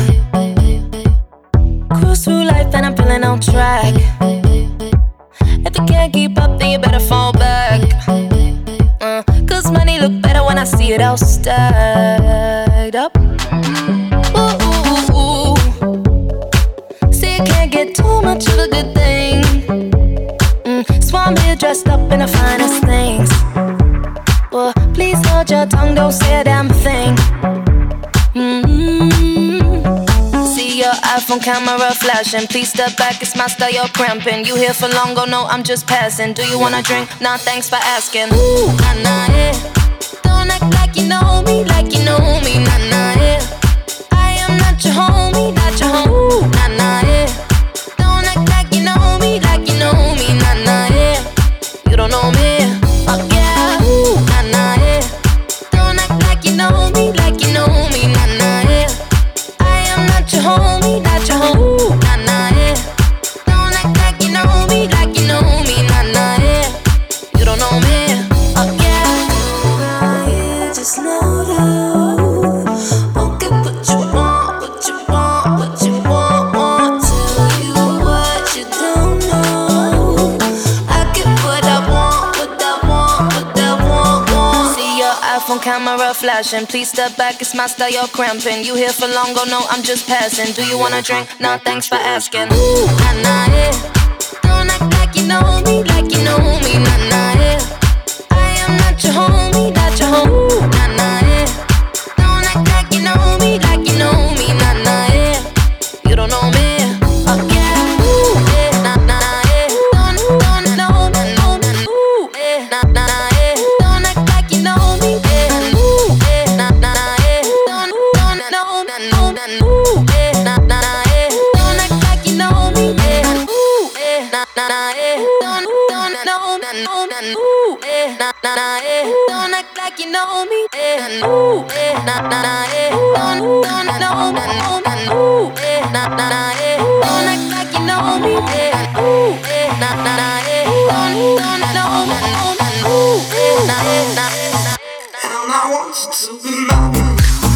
Uh, cruise through life and I'm feeling on track. If you can't keep up, then you better fall back. Uh, Cause money look better when I see it all stacked up. Ooh, ooh, ooh. See, you can't get too much of a good thing. Mm, so I'm here dressed up in the finest things. Well, please hold your tongue, don't say a damn thing. Mm-hmm. See your iPhone camera flashing. Please step back, it's my style, you're cramping. You here for long, oh no, I'm just passing. Do you wanna drink? Nah, thanks for asking. Ooh, nah, nah, yeah. Don't act like you know me, like you know me, nah, nah, yeah. I am not your homie, not your homie, nah, nah, yeah. Don't act like you know me, like you know me, nah, nah, yeah. You don't know me, oh yeah, ooh, nah, nah, yeah. Don't act like you know me, like you know me, nah, nah, yeah. I am not your homie, not your homie, nah, nah, yeah. Don't act like you know me, like you know me, nah, nah, yeah. You don't know me, oh yeah. Just know that I'll get what you want, what you want, what you want, want. Tell you what you don't know. I get what I want, what I want, what I want, want. See your iPhone camera flashing. Please step back, it's my style, you're cramping. You here for long, oh no, I'm just passing. Do you wanna drink? Nah, thanks for asking. Ooh, nah, nah, yeah. Don't act like you know me, like you know me, nah, nah, yeah. I am not your homie, not your homie, nah, nah, yeah. Don't act like you know me like you know me, nah nah yeah. You don't know me, oh yeah. Ooh yeah, nah nah yeah. Don't don't know me, know me, ooh yeah, nah nah yeah. Don't act like you know me, yeah. Ooh yeah, nah nah yeah. Don't don't know me, know me, ooh yeah, nah nah yeah. Don't act like you know me, yeah. Ooh yeah, nah nah yeah. Don't don't know me, know me, ooh yeah, nah nah yeah. Don't act like you know me, yeah. Ooh yeah, nah nah yeah. Don't don't know me, know me, ooh yeah, nah nah yeah. Don't act like you know me, yeah. Ooh yeah, nah nah yeah. Don't don't know me, know me, ooh yeah, nah nah yeah. And I want you to be mine.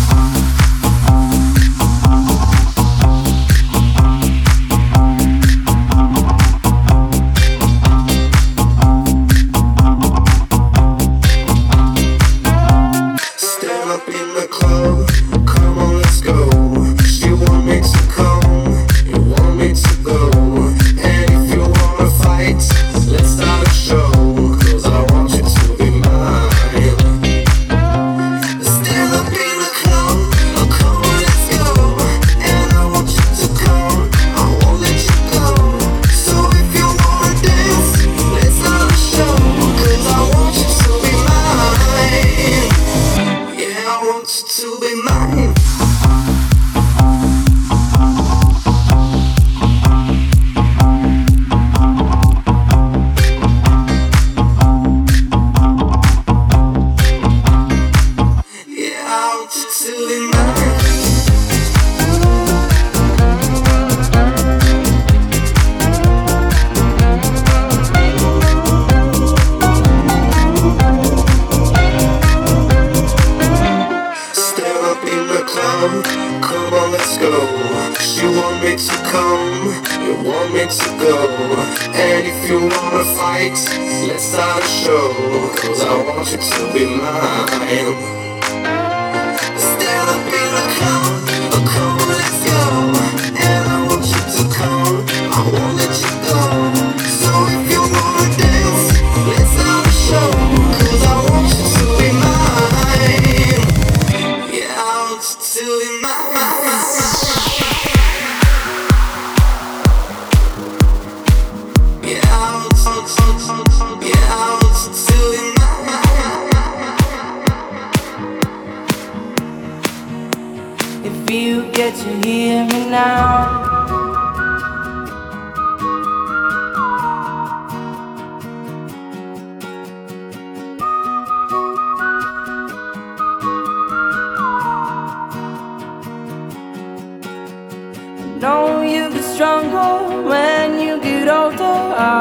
Know you get stronger when you get older.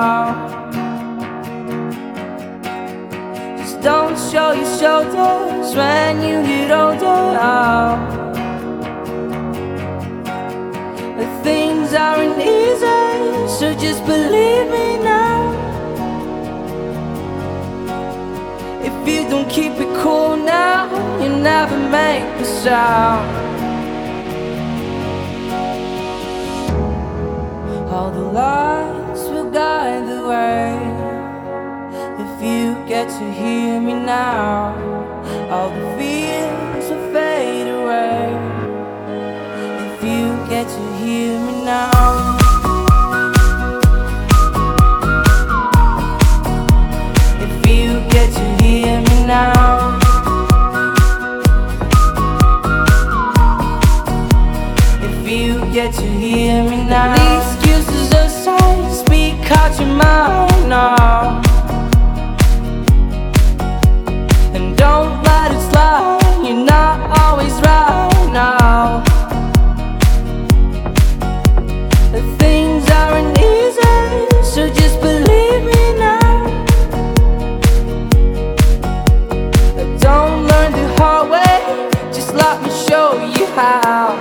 Just don't show your shoulders when you get older. The things aren't easy, so just believe me now. If you don't keep it cool now, you never make a sound. All the lights will guide the way. If you get to hear me now, all the fears will fade away. If you get to hear me now. If you get to hear me now. If you get to hear me now. These excuses aside, speak out your mind now. And don't let it slide, you're not always right now. The things aren't easy, so just believe me now. Don't learn the hard way, just let me show you how.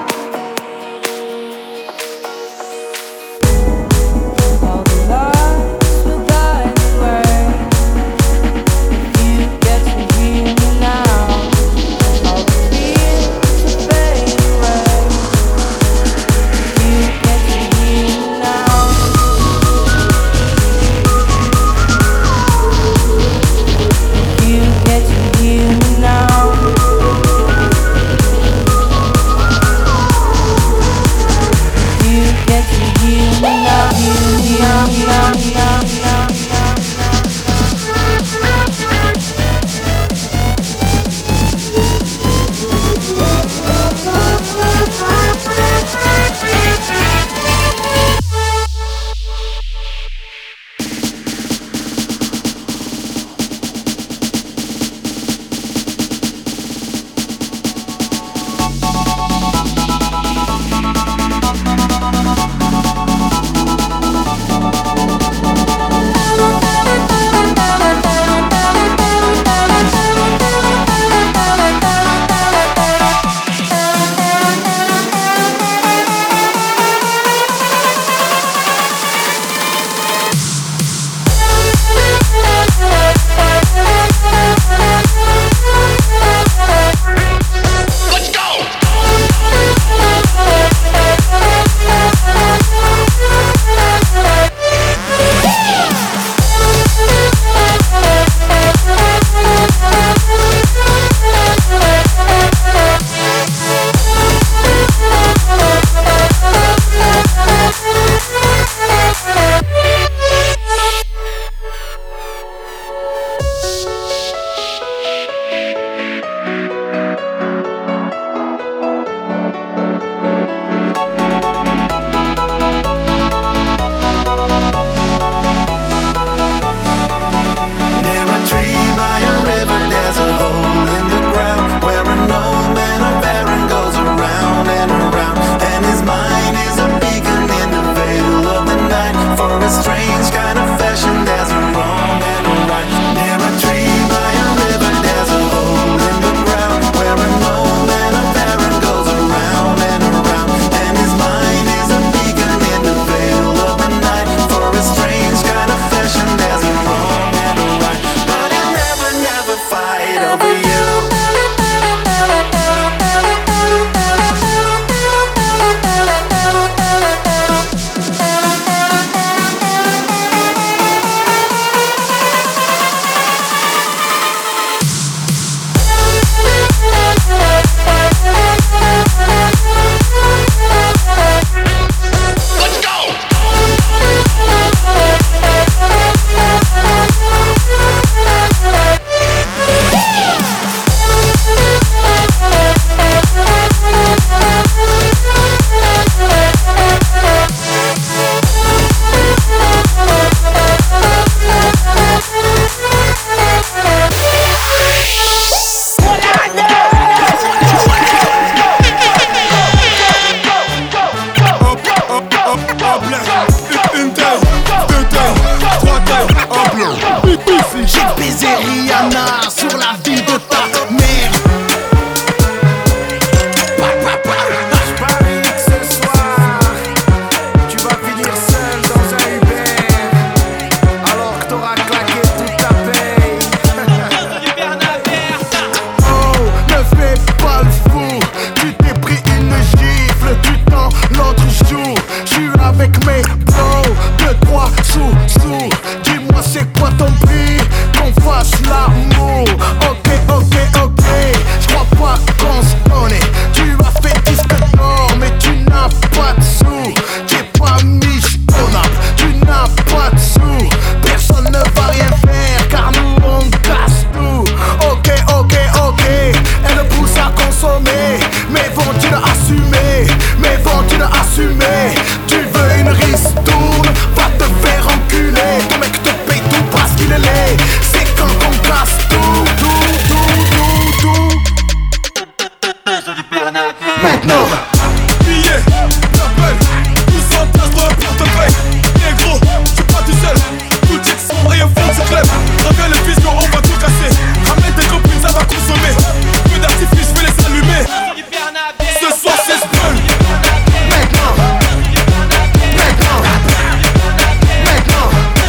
Maintenant. Billets, t'appelles, tous en place dans le portefeuille. Négro, je suis pas tout seul. Tout check sans rien faire, c'est clair. Reviens le fils, on va tout casser. Ramène tes copines, ça va consommer. Feu d'artifice, je vais les allumer. Ce soir, c'est Spell. Maintenant. Maintenant. Maintenant.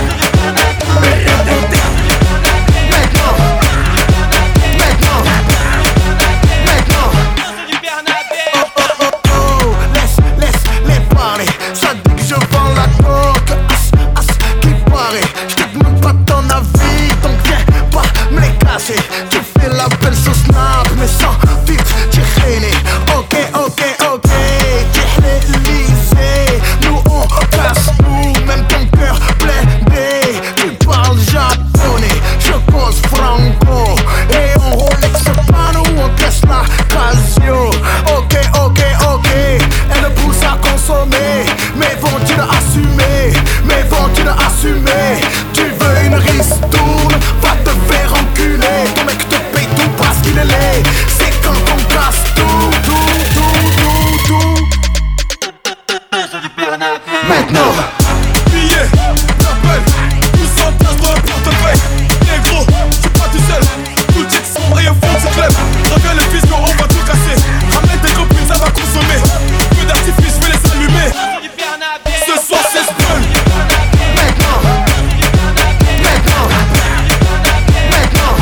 Tu fais la belle sur Snap, mais sans vite, tu gêné. Ok, ok, ok, tu l'Élysée. Nous on casse tout, même ton cœur blindé. Tu parles japonais, je cause franco. Et on Rolex pas nous, on Tesla Casio. Ok, ok, ok, elle pousse à consommer. Mais vont-ils assumer? Mais vont-ils assumer? Tu veux une ristourne, va te faire enculer. Ton mec te paye tout parce qu'il est laid. C'est quand on casse tout, tout, tout, tout, tout. Maintenant. Billets, t'appelles, tous en place dans le portefeuille. Négro, je suis pas tout seul. Tout check sans rien faire, c'est clair. Reviens le fils, on va tout casser. Ramène tes copines, ça va consommer. Feu d'artifice, je vais les allumer. Ce soir, c'est Spell. Maintenant. Maintenant. Maintenant.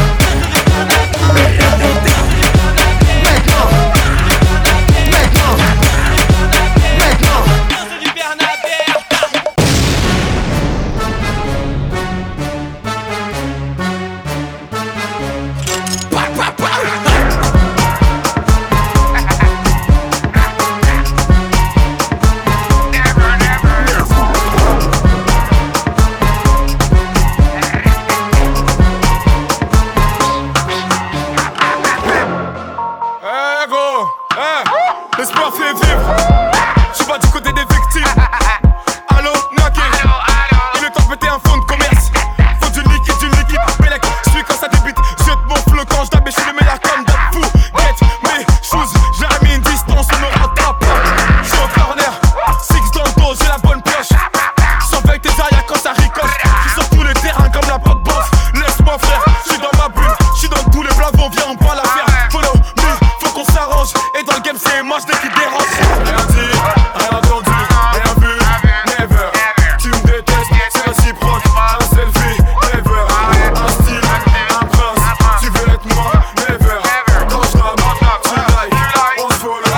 Eh gros, eh, l'espoir fait vivre. Je suis pas du côté des victimes. Allo, knocking. Il est temps de péter un fonds de commerce. Faut du liquide, du liquide. Bélec, je suis quand ça débite. Jette mon flow quand je tape et je suis le meilleur comme d'hab. Fou, get mes shoes. J'ai remis une distance, on me rattrape pas. Je suis au corner, six dans le dos, j'ai la bonne pioche. Surveille tes arrières quand ça ricoche. Je suis sur tous les terrains comme la pop boss. Laisse-moi frère, je suis dans ma bulle. Je suis dans tous les blavons, viens on parle à faire. Follow me, faut qu'on s'arrange. Et dans le game c'est moi je qui dérange. Rien dit, rien entendu, rien vu, never. Tu me détestes, c'est réciproque. Un selfie, never. Un style, un prince. Tu veux être moi, never. Quand je rappe, tu like, on se follow,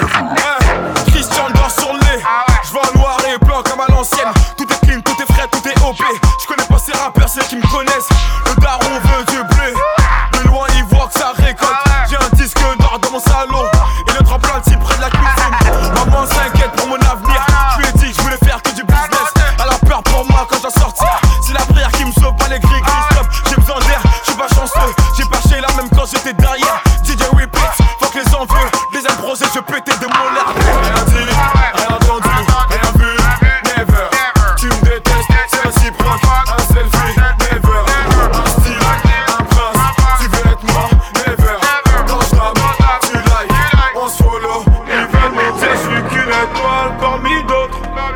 never. Christian dort sur le nez. Je vois noir et blanc comme à l'ancienne. Tout est clean, tout est frais, tout est O P. Je connais pas ces rappeurs, ceux qui me connaissent. Le daron veut du blé. De loin il voit que ça récolte. J'ai un disque d'or dans mon salon. Et le tremplin de près de la cuisine. Maman s'inquiète pour mon avenir. Je lui ai dit que je voulais faire que du business. Elle a peur pour moi quand j'en sortir. C'est la prière qui me sauve, pas les gris gris stop. J'ai besoin d'air, je suis pas chanceux. J'ai pas chez là même quand j'étais derrière. D J repeat, fuck les envieux. Deuxième projet, je pétais de mon l'air. Rien dit, rien entendu, rien vu, never. Tu me détestes, c'est réciproque. Un selfie, never. Un style, un prince. Tu veux être moi, never. Quand je rappe, tu like, on se follow. Ils veulent me dire, je suis qu'une étoile parmi d'autres.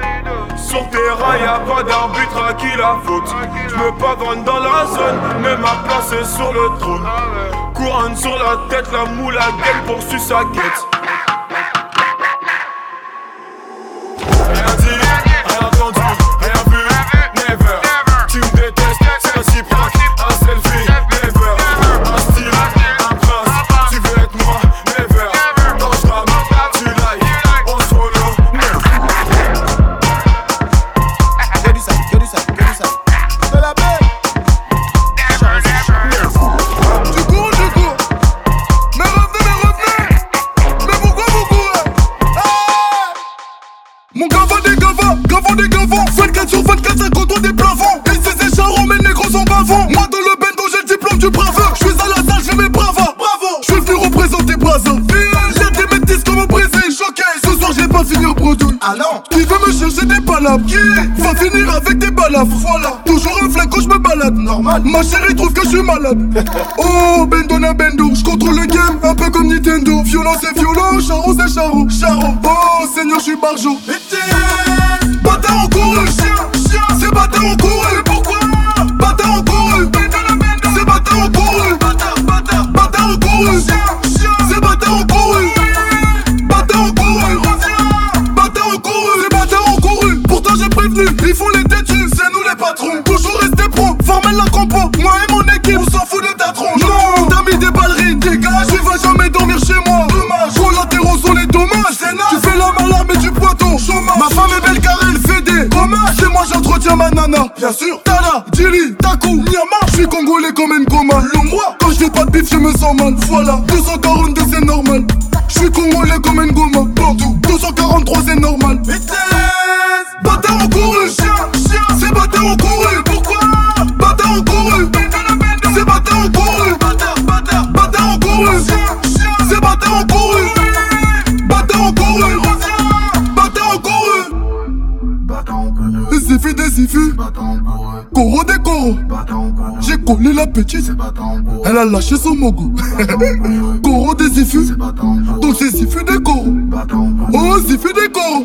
Sur terrain, y'a pas d'arbitre à qui la faute. J'me pavonne dans la zone, mais ma place est sur le trône. Couronne sur la tête, la moule à gueule poursuit sa quête. Rien dit, rien entendu, rien vu, never. Tu me détestes, c'est réciproque. Un selfie, never. Un style, un prince. Tu veux être moi, never. Quand je rappe, tu like, on se follow, never. Que du sale, que du sale, que du sale. De la belle. Du coup, du coup. Mais revenez, mais revenez. Mais pourquoi vous courez? Mon gava des gavas, gavant des gavants. vingt-quatre sur vingt-quatre, ça contourne des plafonds. Et ces écharons, mes négros sont bavants. Moi dans le bendo, j'ai le diplôme du braveur. J'suis à la salle, j'fais mes bravas. Bravo, j'suis venu représenter Brazzaville. J'ai des métis comme au Brésil, choqué. Ce soir, j'ai pas fini au produit. Ah non. veux me chercher des palabres, va finir avec des balafres. Voilà, toujours un flingue quand je me balade. Normal, ma chérie trouve que je suis malade. Oh, bendo na bendo, je contrôle le game, un peu comme Nintendo. Violence c'est violent, charo c'est charo, charo. Oh, Seigneur, je suis barjo. Bâtard en couru, chien, c'est bâtard en couru. Pourquoi? Bâtard en couru, c'est bâtard en couru. Bâtard, bâtard, bâtard en couru, c'est bâtard en couru. Bâtard en couru, bâtard en couru, c'est bâtard en couru. Pourtant j'ai prévenu, ils font les têtus, c'est nous les patrons. Toujours rester pro, formel la compo, moi et mon équipe, on s'en fout de ta tronche. Non, t'as mis des ballerines, dégage, tu vas jamais dormir chez moi. Dommage, collatéraux sont les dommages, c'est naze. Tu fais la malade mais du poiton, chômage. Ma femme est belle car elle fait des dommages. C'est moi j'entretiens ma nana, bien sûr. Tala, Djili, Taku, Nyama. Je suis congolais comme Ngoma, Longwa. Quand je fais pas de bif je me sens mal, voilà. deux cent quarante-deux c'est normal. Je suis congolais comme Ngoma, Bordeaux. deux cent quarante-trois c'est normal. Bâtard en couru, c'est bâtard en couru. Pourquoi? Bâtard en couru, c'est bâtard en couru. Bâtard, bâtard, bâtard en couru, c'est bâtard en couru. Bâtard en couru, bâtard en couru. Zifi des zifus, Koro des Koro. J'ai collé la petite, elle a lâché son mogo. Koro des zifus, donc c'est Zifi des Koro. Oh, Zifi des Koro.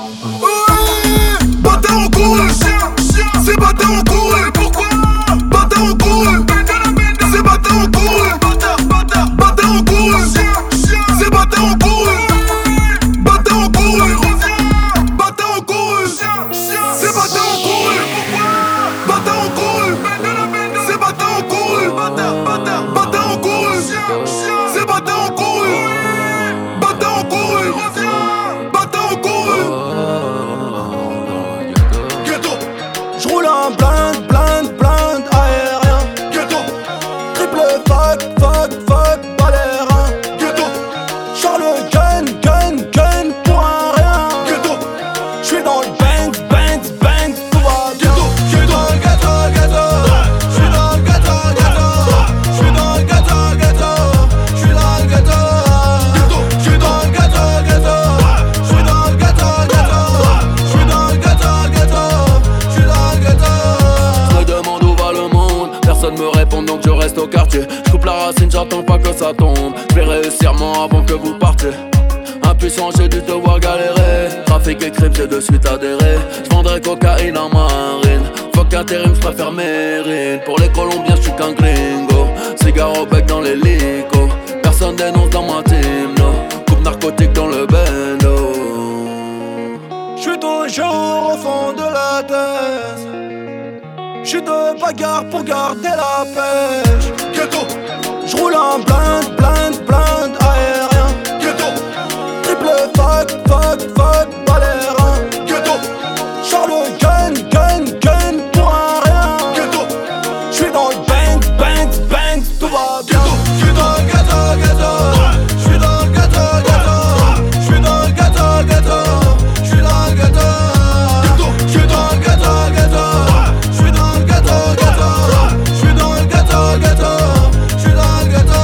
Bâtard en couru, c'est bâtard en couru. Pourquoi? Bâtard en couru, c'est bâtard en couru. Bâtard, bâtard, bâtard en couru, c'est bâtard en couru. Bâtard en couru, bâtard en couru, c'est bâtard en couru. Bâtard en couru, c'est bâtard en couru. Bâtard, bâtard, bâtard en couru, c'est bâtard en couru. Bâtard en couru, bâtard en couru. Ghetto, j'roule un blind, blind, blind aérien. Ghetto, triple fuck, fuck, fuck, balérin. Ghetto, Charles gun, gun, gun pour un rien. Ghetto, j'suis dans le bang, bang, bang, tout va bien. J'suis dans le ghetto, ghetto. J'suis dans le ghetto, ghetto. J'suis dans le ghetto, ghetto. J'suis dans le ghetto. J'suis dans le ghetto, ghetto. J'suis dans le ghetto, ghetto. J'suis dans le ghetto, ghetto. J'suis dans le ghetto. Je me demande où va le monde, personne me répond donc je reste au quartier. Je coupe la racine, j'attends pas que ça tombe. Je vais réussir moi avant que vous partiez. Impuissant, j'ai dû te voir galérer. Trafic et crime, j'ai de suite adhéré. Je vendrais cocaïne en marine. Fuck intérim, je préfère Mérine. Pour les Colombiens, je suis qu'un gringo. Cigare au bec dans l'hélico. Personne dénonce dans ma team, no. Coupe narcotique dans le bendo. J'suis toujours au fond de la tête. J'suis de bagarre pour garder la pêche. Ghetto, J'roule un blind, blind, blind aérien. ghetto, Triple fuck, fuck, fuck, balérin. ghetto, Charles gun, gun, gun pour un rien. ghetto, J'suis dans le bang, bang, bang, tout va bien. j'suis dans le ghetto, ghetto. J'suis dans le ghetto, ghetto. J'suis dans le ghetto, ghetto. J'suis dans le ghetto. J'suis dans le ghetto, ghetto. J'suis dans le ghetto, ghetto. J'suis dans le ghetto, ghetto. J'suis dans le ghetto.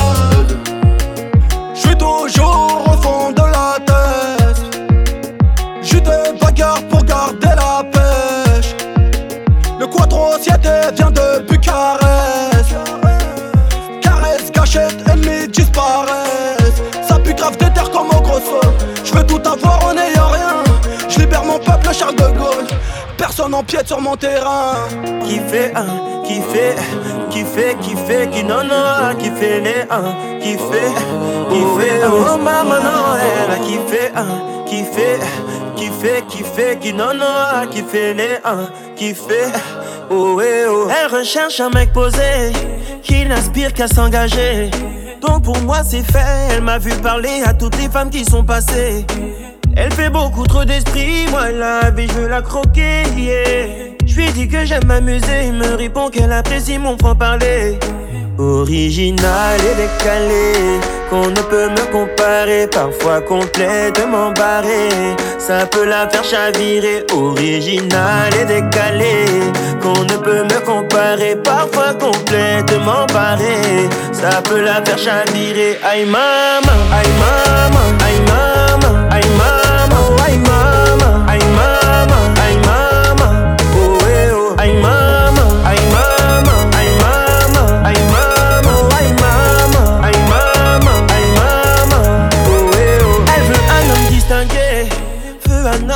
J'suis toujours au fond de la tête. J'suis de bagarre pour garder la pêche. Le quattro siete vient de Bucarest. Caresse, gâchette, ennemis disparaissent. Ça pue grave des terres comme au gros sol. J'veux tout avoir en ayant rien. J'libère mon peuple, Charles de Gaulle. Personne empiète sur mon terrain. Qui fait un, qui fait, qui fait, qui fait, qui non non, qui fait les un, qui fait, qui fait, oh maman non, elle qui fait un, qui fait, qui fait, qui fait, qui non non, qui fait les un, qui fait, oh eh oh. Elle recherche un mec posé, qui n'aspire qu'à s'engager. Donc pour moi c'est fait, elle m'a vu parler à toutes les femmes qui sont passées. Elle fait beaucoup trop d'esprit, moi la vie je veux la croquer, yeah. Je lui dis que j'aime m'amuser, il me répond qu'elle apprécie mon franc-parler. Original et décalé, qu'on ne peut me comparer, parfois complètement barré, ça peut la faire chavirer. Original et décalé, qu'on ne peut me comparer, parfois complètement barré, ça peut la faire chavirer. Aïe maman, aïe maman, aïe maman, aïe maman, aïe maman, aïe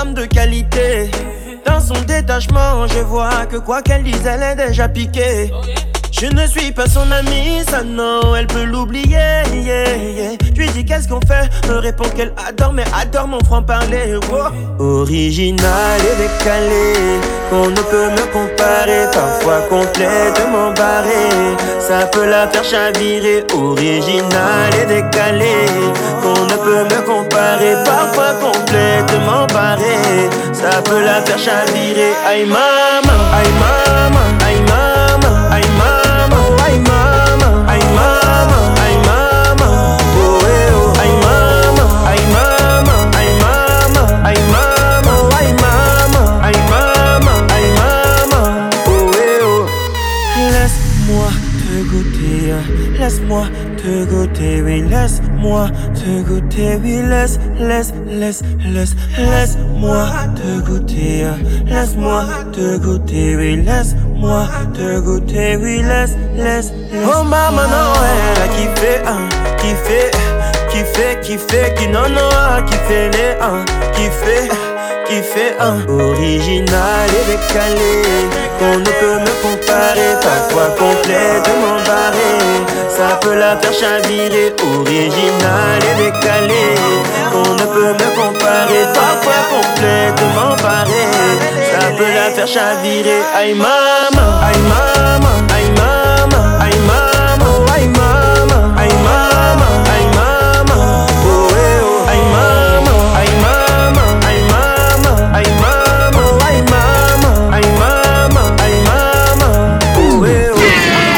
femme de qualité. Dans son détachement, je vois que quoi qu'elle dise, elle est déjà piquée. Je ne suis pas son amie, ça non, elle peut l'oublier, yeah, yeah. Je lui dis qu'est-ce qu'on fait, me répond qu'elle adore, mais adore mon franc-parler, oh. Original et décalé, qu'on ne peut me comparer, parfois complètement barré, ça peut la faire chavirer. Original et décalé, qu'on ne peut me comparer, parfois complètement barré, ça peut la faire chavirer. Aïe maman, aïe maman, aïe maman, aïe maman. Ay mama, ay mama, ay mama, oh eh oh. Ay mama, ay mama, ay mama, ay mama, ay mama, ay mama, ay mama, oh eh oh. Laisse-moi te goûter, laisse-moi te goûter, oui, laisse-moi te goûter, oui, laisse, laisse, laisse, laisse, laisse-moi te goûter, laisse-moi te goûter, oui, laisse-moi te goûter, oui, laisse, laisse, laisse. Oh maman, non, elle a kiffé, hein, kiffé, kiffé, kiffé, qui non, non, kiffé les, hein, kiffé, kiffé, hein. Original et décalé, qu'on ne peut me comparer, parfois complètement barré, ça peut la faire chavirer. Original et décalé, qu'on ne peut me comparer, parfois complètement barré, ça peut la faire chavirer. Aïe maman, aïe maman, aïe maman, aïe maman, aïe maman, aïe maman, aïe maman, oh eh oh. Aïe maman, aïe maman, aïe maman, aïe maman, aïe maman, aïe maman, aïe maman, oh eh oh.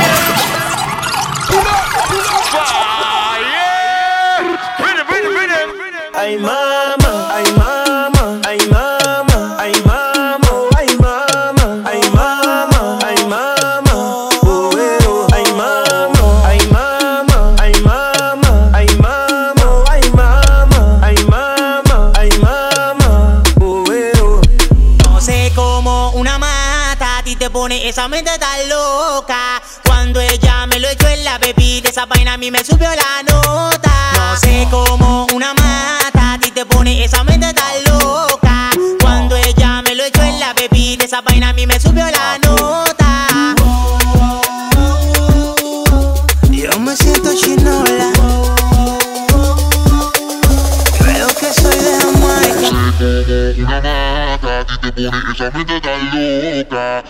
Ay mama, ay mama, ay mama, ay mama, ay mama, ay mama, ay mama, oh eh oh. Ay mama, ay mama, ay mama, ay mama, ay mama, ay mama, ay mama, oh eh oh. No sé cómo una mata a ti te pone esa mente tan loca. Cuando ella me lo echó en la bebida, esa vaina a mí me subió la nota. No sé cómo una mata a ti te pone esa mente tan loca. Cuando ella me lo echó en la bebida, esa vaina a mí me subió la nota. Yo me siento chinola, creo que soy de Jamaica. Una mata a ti te pone esa mente tan loca.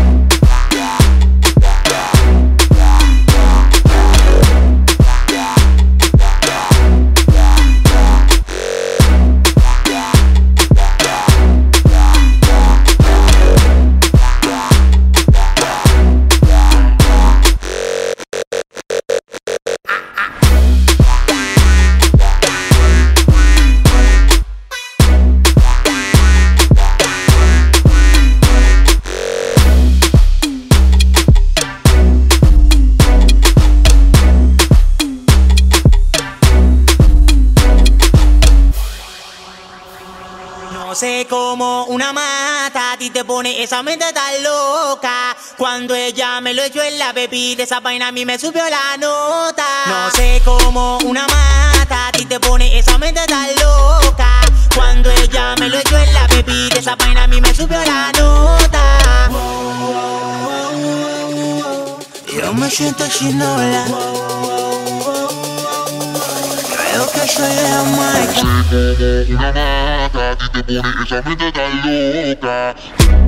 No sé cómo una mata a ti te pone esa mente tan loca. Cuando ella me lo echó en la bebida, esa vaina a mí me subió la nota. No sé cómo una mata a ti te pone esa mente tan loca. Cuando ella me lo echó en la bebida, esa vaina a mí me subió la nota. Yo me siento chinola, creo que soy de Jamaica. Una mata a ti te pone esa mente tan loca.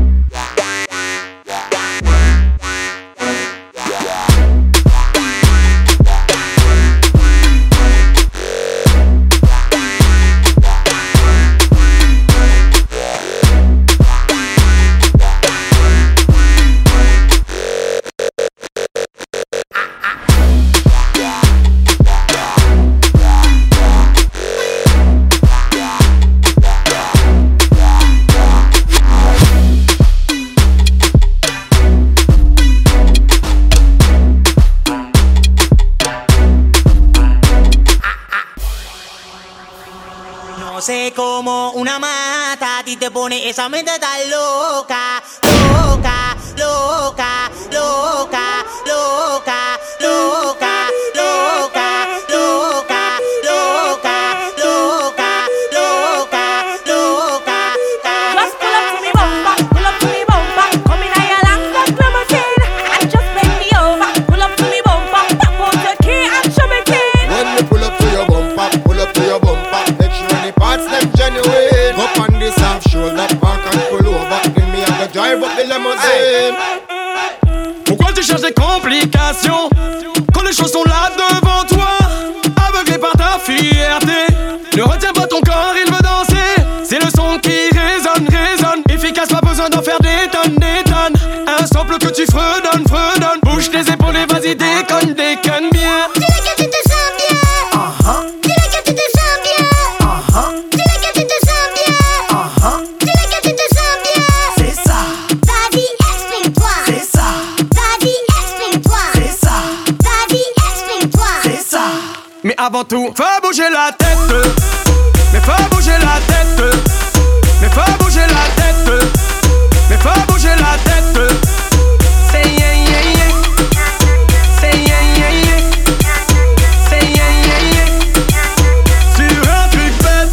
No sé cómo una mata a ti te pone esa mente tan loca, loca, loca, loca, loca, loca, loca, loca, loca, loca, loca, loca, Pourquoi tu cherches des complications quand les choses sont là devant toi? Aveuglé par ta fierté, ne retiens pas ton corps, il veut danser. C'est le son qui résonne, résonne. Efficace, pas besoin d'en faire des tonnes, des tonnes. Un sample que tu fredonnes, fredonnes. Bouge tes épaules et vas-y, déconne, déconne bien. Dis-le que tu te sens bien. Uh-huh. Dis-le que tu te sens bien. Uh-huh. Dis-le que tu te sens bien. Uh-huh. Dis-le que tu te sens bien. C'est ça. Vas-y, exprime-toi. C'est ça. Vas-y, exprime-toi. C'est ça. Vas-y, exprime-toi. C'est ça. Mais avant tout, fais bouger la tête. Mais fais bouger la tête. Mais fais bouger la tête. Mais fais bouger la tête. Say yeah yeah yeah. Say yeah yeah yeah. Say yeah yeah yeah. Sur un truc bête.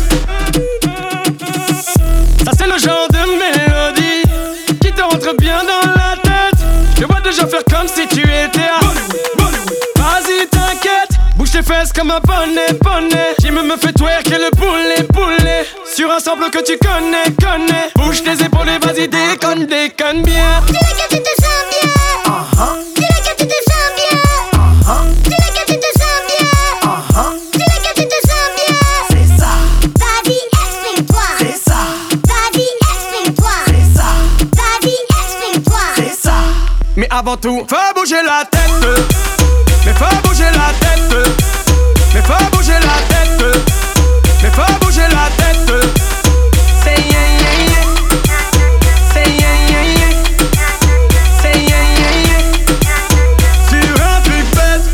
Ça c'est le genre de mélodie qui te rentre bien dans la tête. Je te vois déjà faire comme si tu étais à Vas-y t'inquiète. Bouge tes fesses comme un poney, poney. Jim me fait twerker le poulet, poulet. Sur un sample que tu connais, connais. Bouge tes épaules et vas-y déconne, déconne bien. Dis-le que tu te sens bien. Uh-huh. Dis-le que tu te sens bien. Uh-huh. Dis-le que tu te sens bien. Uh-huh. Dis-le que tu te sens bien. C'est ça. Vas-y, exprime-toi. C'est ça. Vas-y, exprime-toi. C'est ça. Vas-y, exprime-toi. C'est ça. Mais avant tout, fais bouger la tête. Mais fais bouger la tête. Mais fais bouger la tête. Mais fais bouger la tête. Say yeah yeah yeah. Say yeah yeah yeah. Say yeah yeah yeah. Sur un truc bête.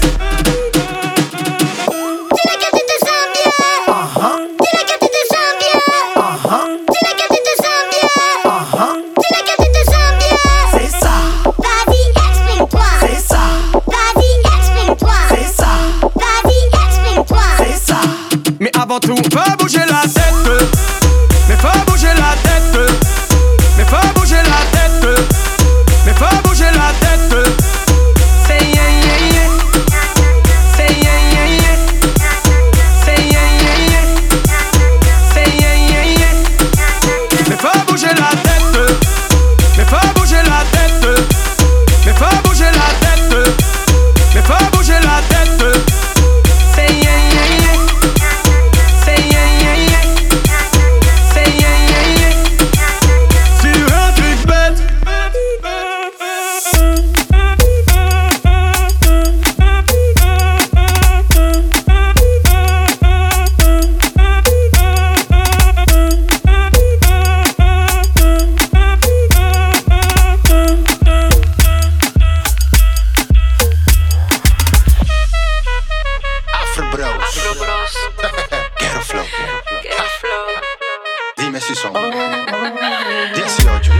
Dis-le que tu te sens bien. Uh-huh. Dis-le que tu te sens bien. Uh-huh. Dis-le que tu te sens bien. Uh-huh. Dis-le que tu te sens bien. C'est ça. Vas-y, exprime-toi. C'est ça. Vas-y, exprime-toi. C'est ça. Vas-y, exprime-toi. C'est ça. Mais avant tout, fais bouger la tête. Mais fais bouger la tête. Mais fais bouger la tête. Mais fais bouger la tête. Say yeah yeah yeah. Say yeah yeah yeah. Say yeah yeah yeah. Say yeah yeah yeah. Mais fais bouger la tête. Mais fais bouger la tête. Mais fais bouger la tête. Mais fais bouger la tête. Say yeah yeah yeah. Say yeah yeah yeah. Say yeah yeah yeah. Sur un truc bête. Afro Bros. Quiero flow. Dime si son dieciocho.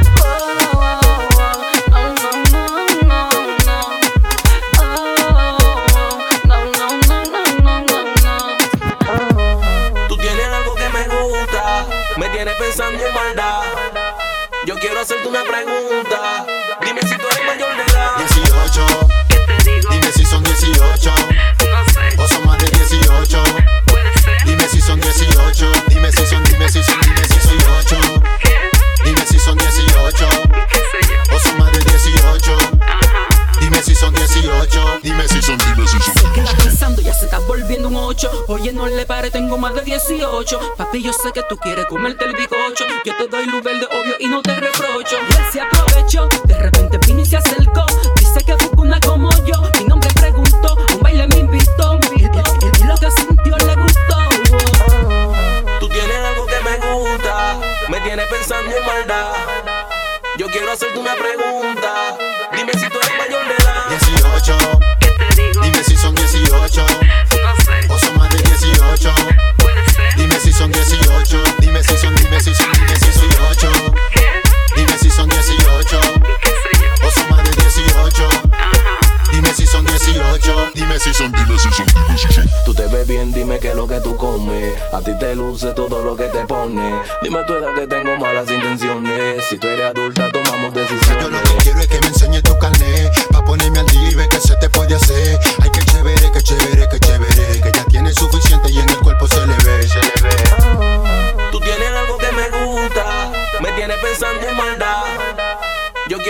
Tú tienes algo que me gusta, me tienes pensando en maldad. Yo quiero hacerte una pregunta. Dime si tú eres mayor de edad. dieciocho. Dime si son dieciocho. O son más de dieciocho. Dime si son dieciocho. Dime si son, dime si son, dime si son dieciocho. Dime si son dieciocho. O son más de dieciocho. Dime si son dieciocho. Dime si son, dime si son. Se queda pensando, ya se está volviendo un ocho. Oye, no le pare, tengo más de dieciocho. Papi, yo sé que tú quieres comerte el bicocho. Yo te doy luz verde, obvio, y no te reprocho. Y él se aprovechó, de repente vino y se acercó. Dice que busca una como yo. Mi nombre preguntó, a un baile me invitó. Y, y- y- y lo que sintió le gustó. Tú tienes algo que me gusta, me tienes pensando en maldad. Yo quiero hacerte una pregunta. Dime si tú eres mayor de edad. dieciocho. Dime si son dieciocho. O son más de dieciocho. Dime si son dieciocho. Dime si son, dime si son, dime si son dieciocho. Dime si son dieciocho. O son más de dieciocho. Dime si son dieciocho. Dime si son, dime si son, dime si son. Tú te ves bien, dime qué es lo que tú comes. A ti te luce todo lo que te pone. Dime tu edad que tengo malas intenciones. Si tú eres adulta, tomamos decisiones. Yo lo que quiero es que me enseñes tu carnet, pa' ponerme al día y ver qué se te puede hacer. Ay, qué chévere, qué chévere, qué chévere. Que ya tienes suficiente y en el cuerpo se le ve, se le ve. Tú tienes algo que me gusta, me tienes pensando en maldad. Yo quiero hacerte una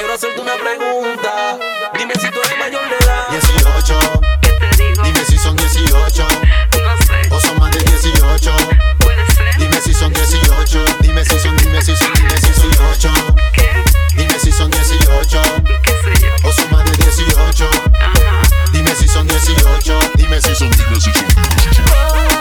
una pregunta. Dime si tú eres mayor de edad. dieciocho. Dime si son dieciocho. O son más de dieciocho. Dime si son dieciocho. Dime si son, dime si son, dime si son dieciocho. Dime si son dieciocho. O son más de dieciocho. Dime si son dieciocho. Dime si son, dime si son dieciocho.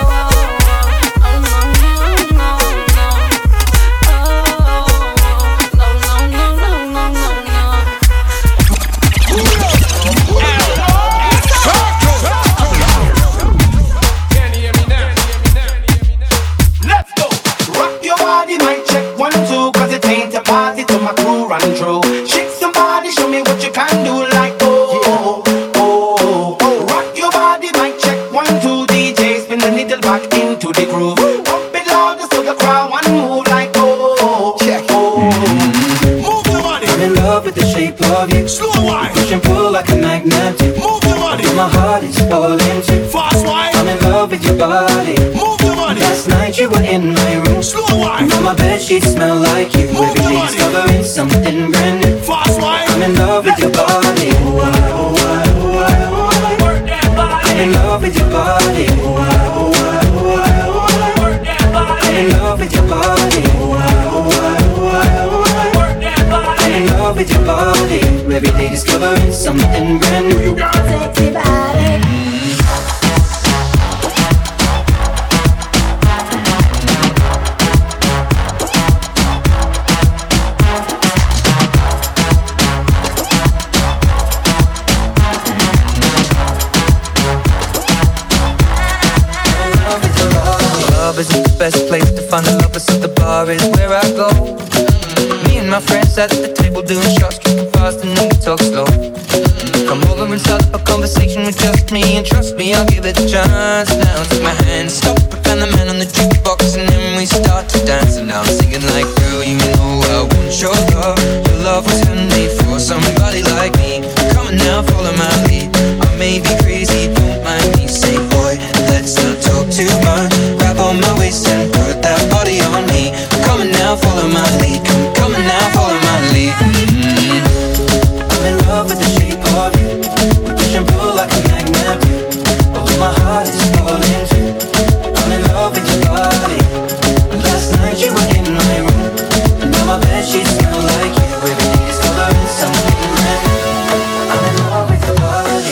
Party to my crew run through. Shake somebody, show me what you can do. Like oh, oh, oh, oh. Rock your body, mic check one two. D J spin the needle back into the groove. Pump it louder so the crowd want move. Like oh, check oh. Move the body. I'm in love with the shape of you. Slow wine. Push and pull like a magnet. Move the body. My heart is falling too. Fast wine. I'm in love with your body. Move the body. Last night you were in my room. Slow wine. On my bed sheets smell like you. Move Every day discovering something brand new. Fast wine. I'm in love with your body. Oh, I, oh, I, oh, I, oh, I. Work that body. I'm in love with your body. Oh, I, oh, I, oh, I, oh, I. Work that body. I'm in love with your body. Oh, I, oh, I, oh, I, oh, I. Work that body. I'm in love with your body. Every day discovering something brand new. You got sexy body. Isn't the best place to find the lovers, so the bar is where I go. Me and my friends at the table doing shots, tripping fast and then we talk slow. Come over and start a conversation with just me, and trust me, I'll give it a chance. Now take my hand, stop, and the man on the jukebox, and then we start to dance. And now I'm singing like, girl, you know I want your love. Your love was handmade for somebody like me. Come on now, follow my lead. I may be crazy, don't mind me. Say, boy, let's not talk too much. On my waist and put that body on me. Come on now, follow my lead. Come, come on now, follow my lead. Mm-hmm. I'm in love with the shape of you. We push and pull like a magnet. Although my heart is falling too. I'm in love with your body. Last night you were in my room, and now my bed sheets smell like you. Every day is coloring something brand new. I'm in love with your body.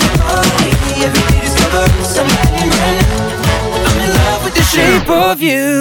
Of you,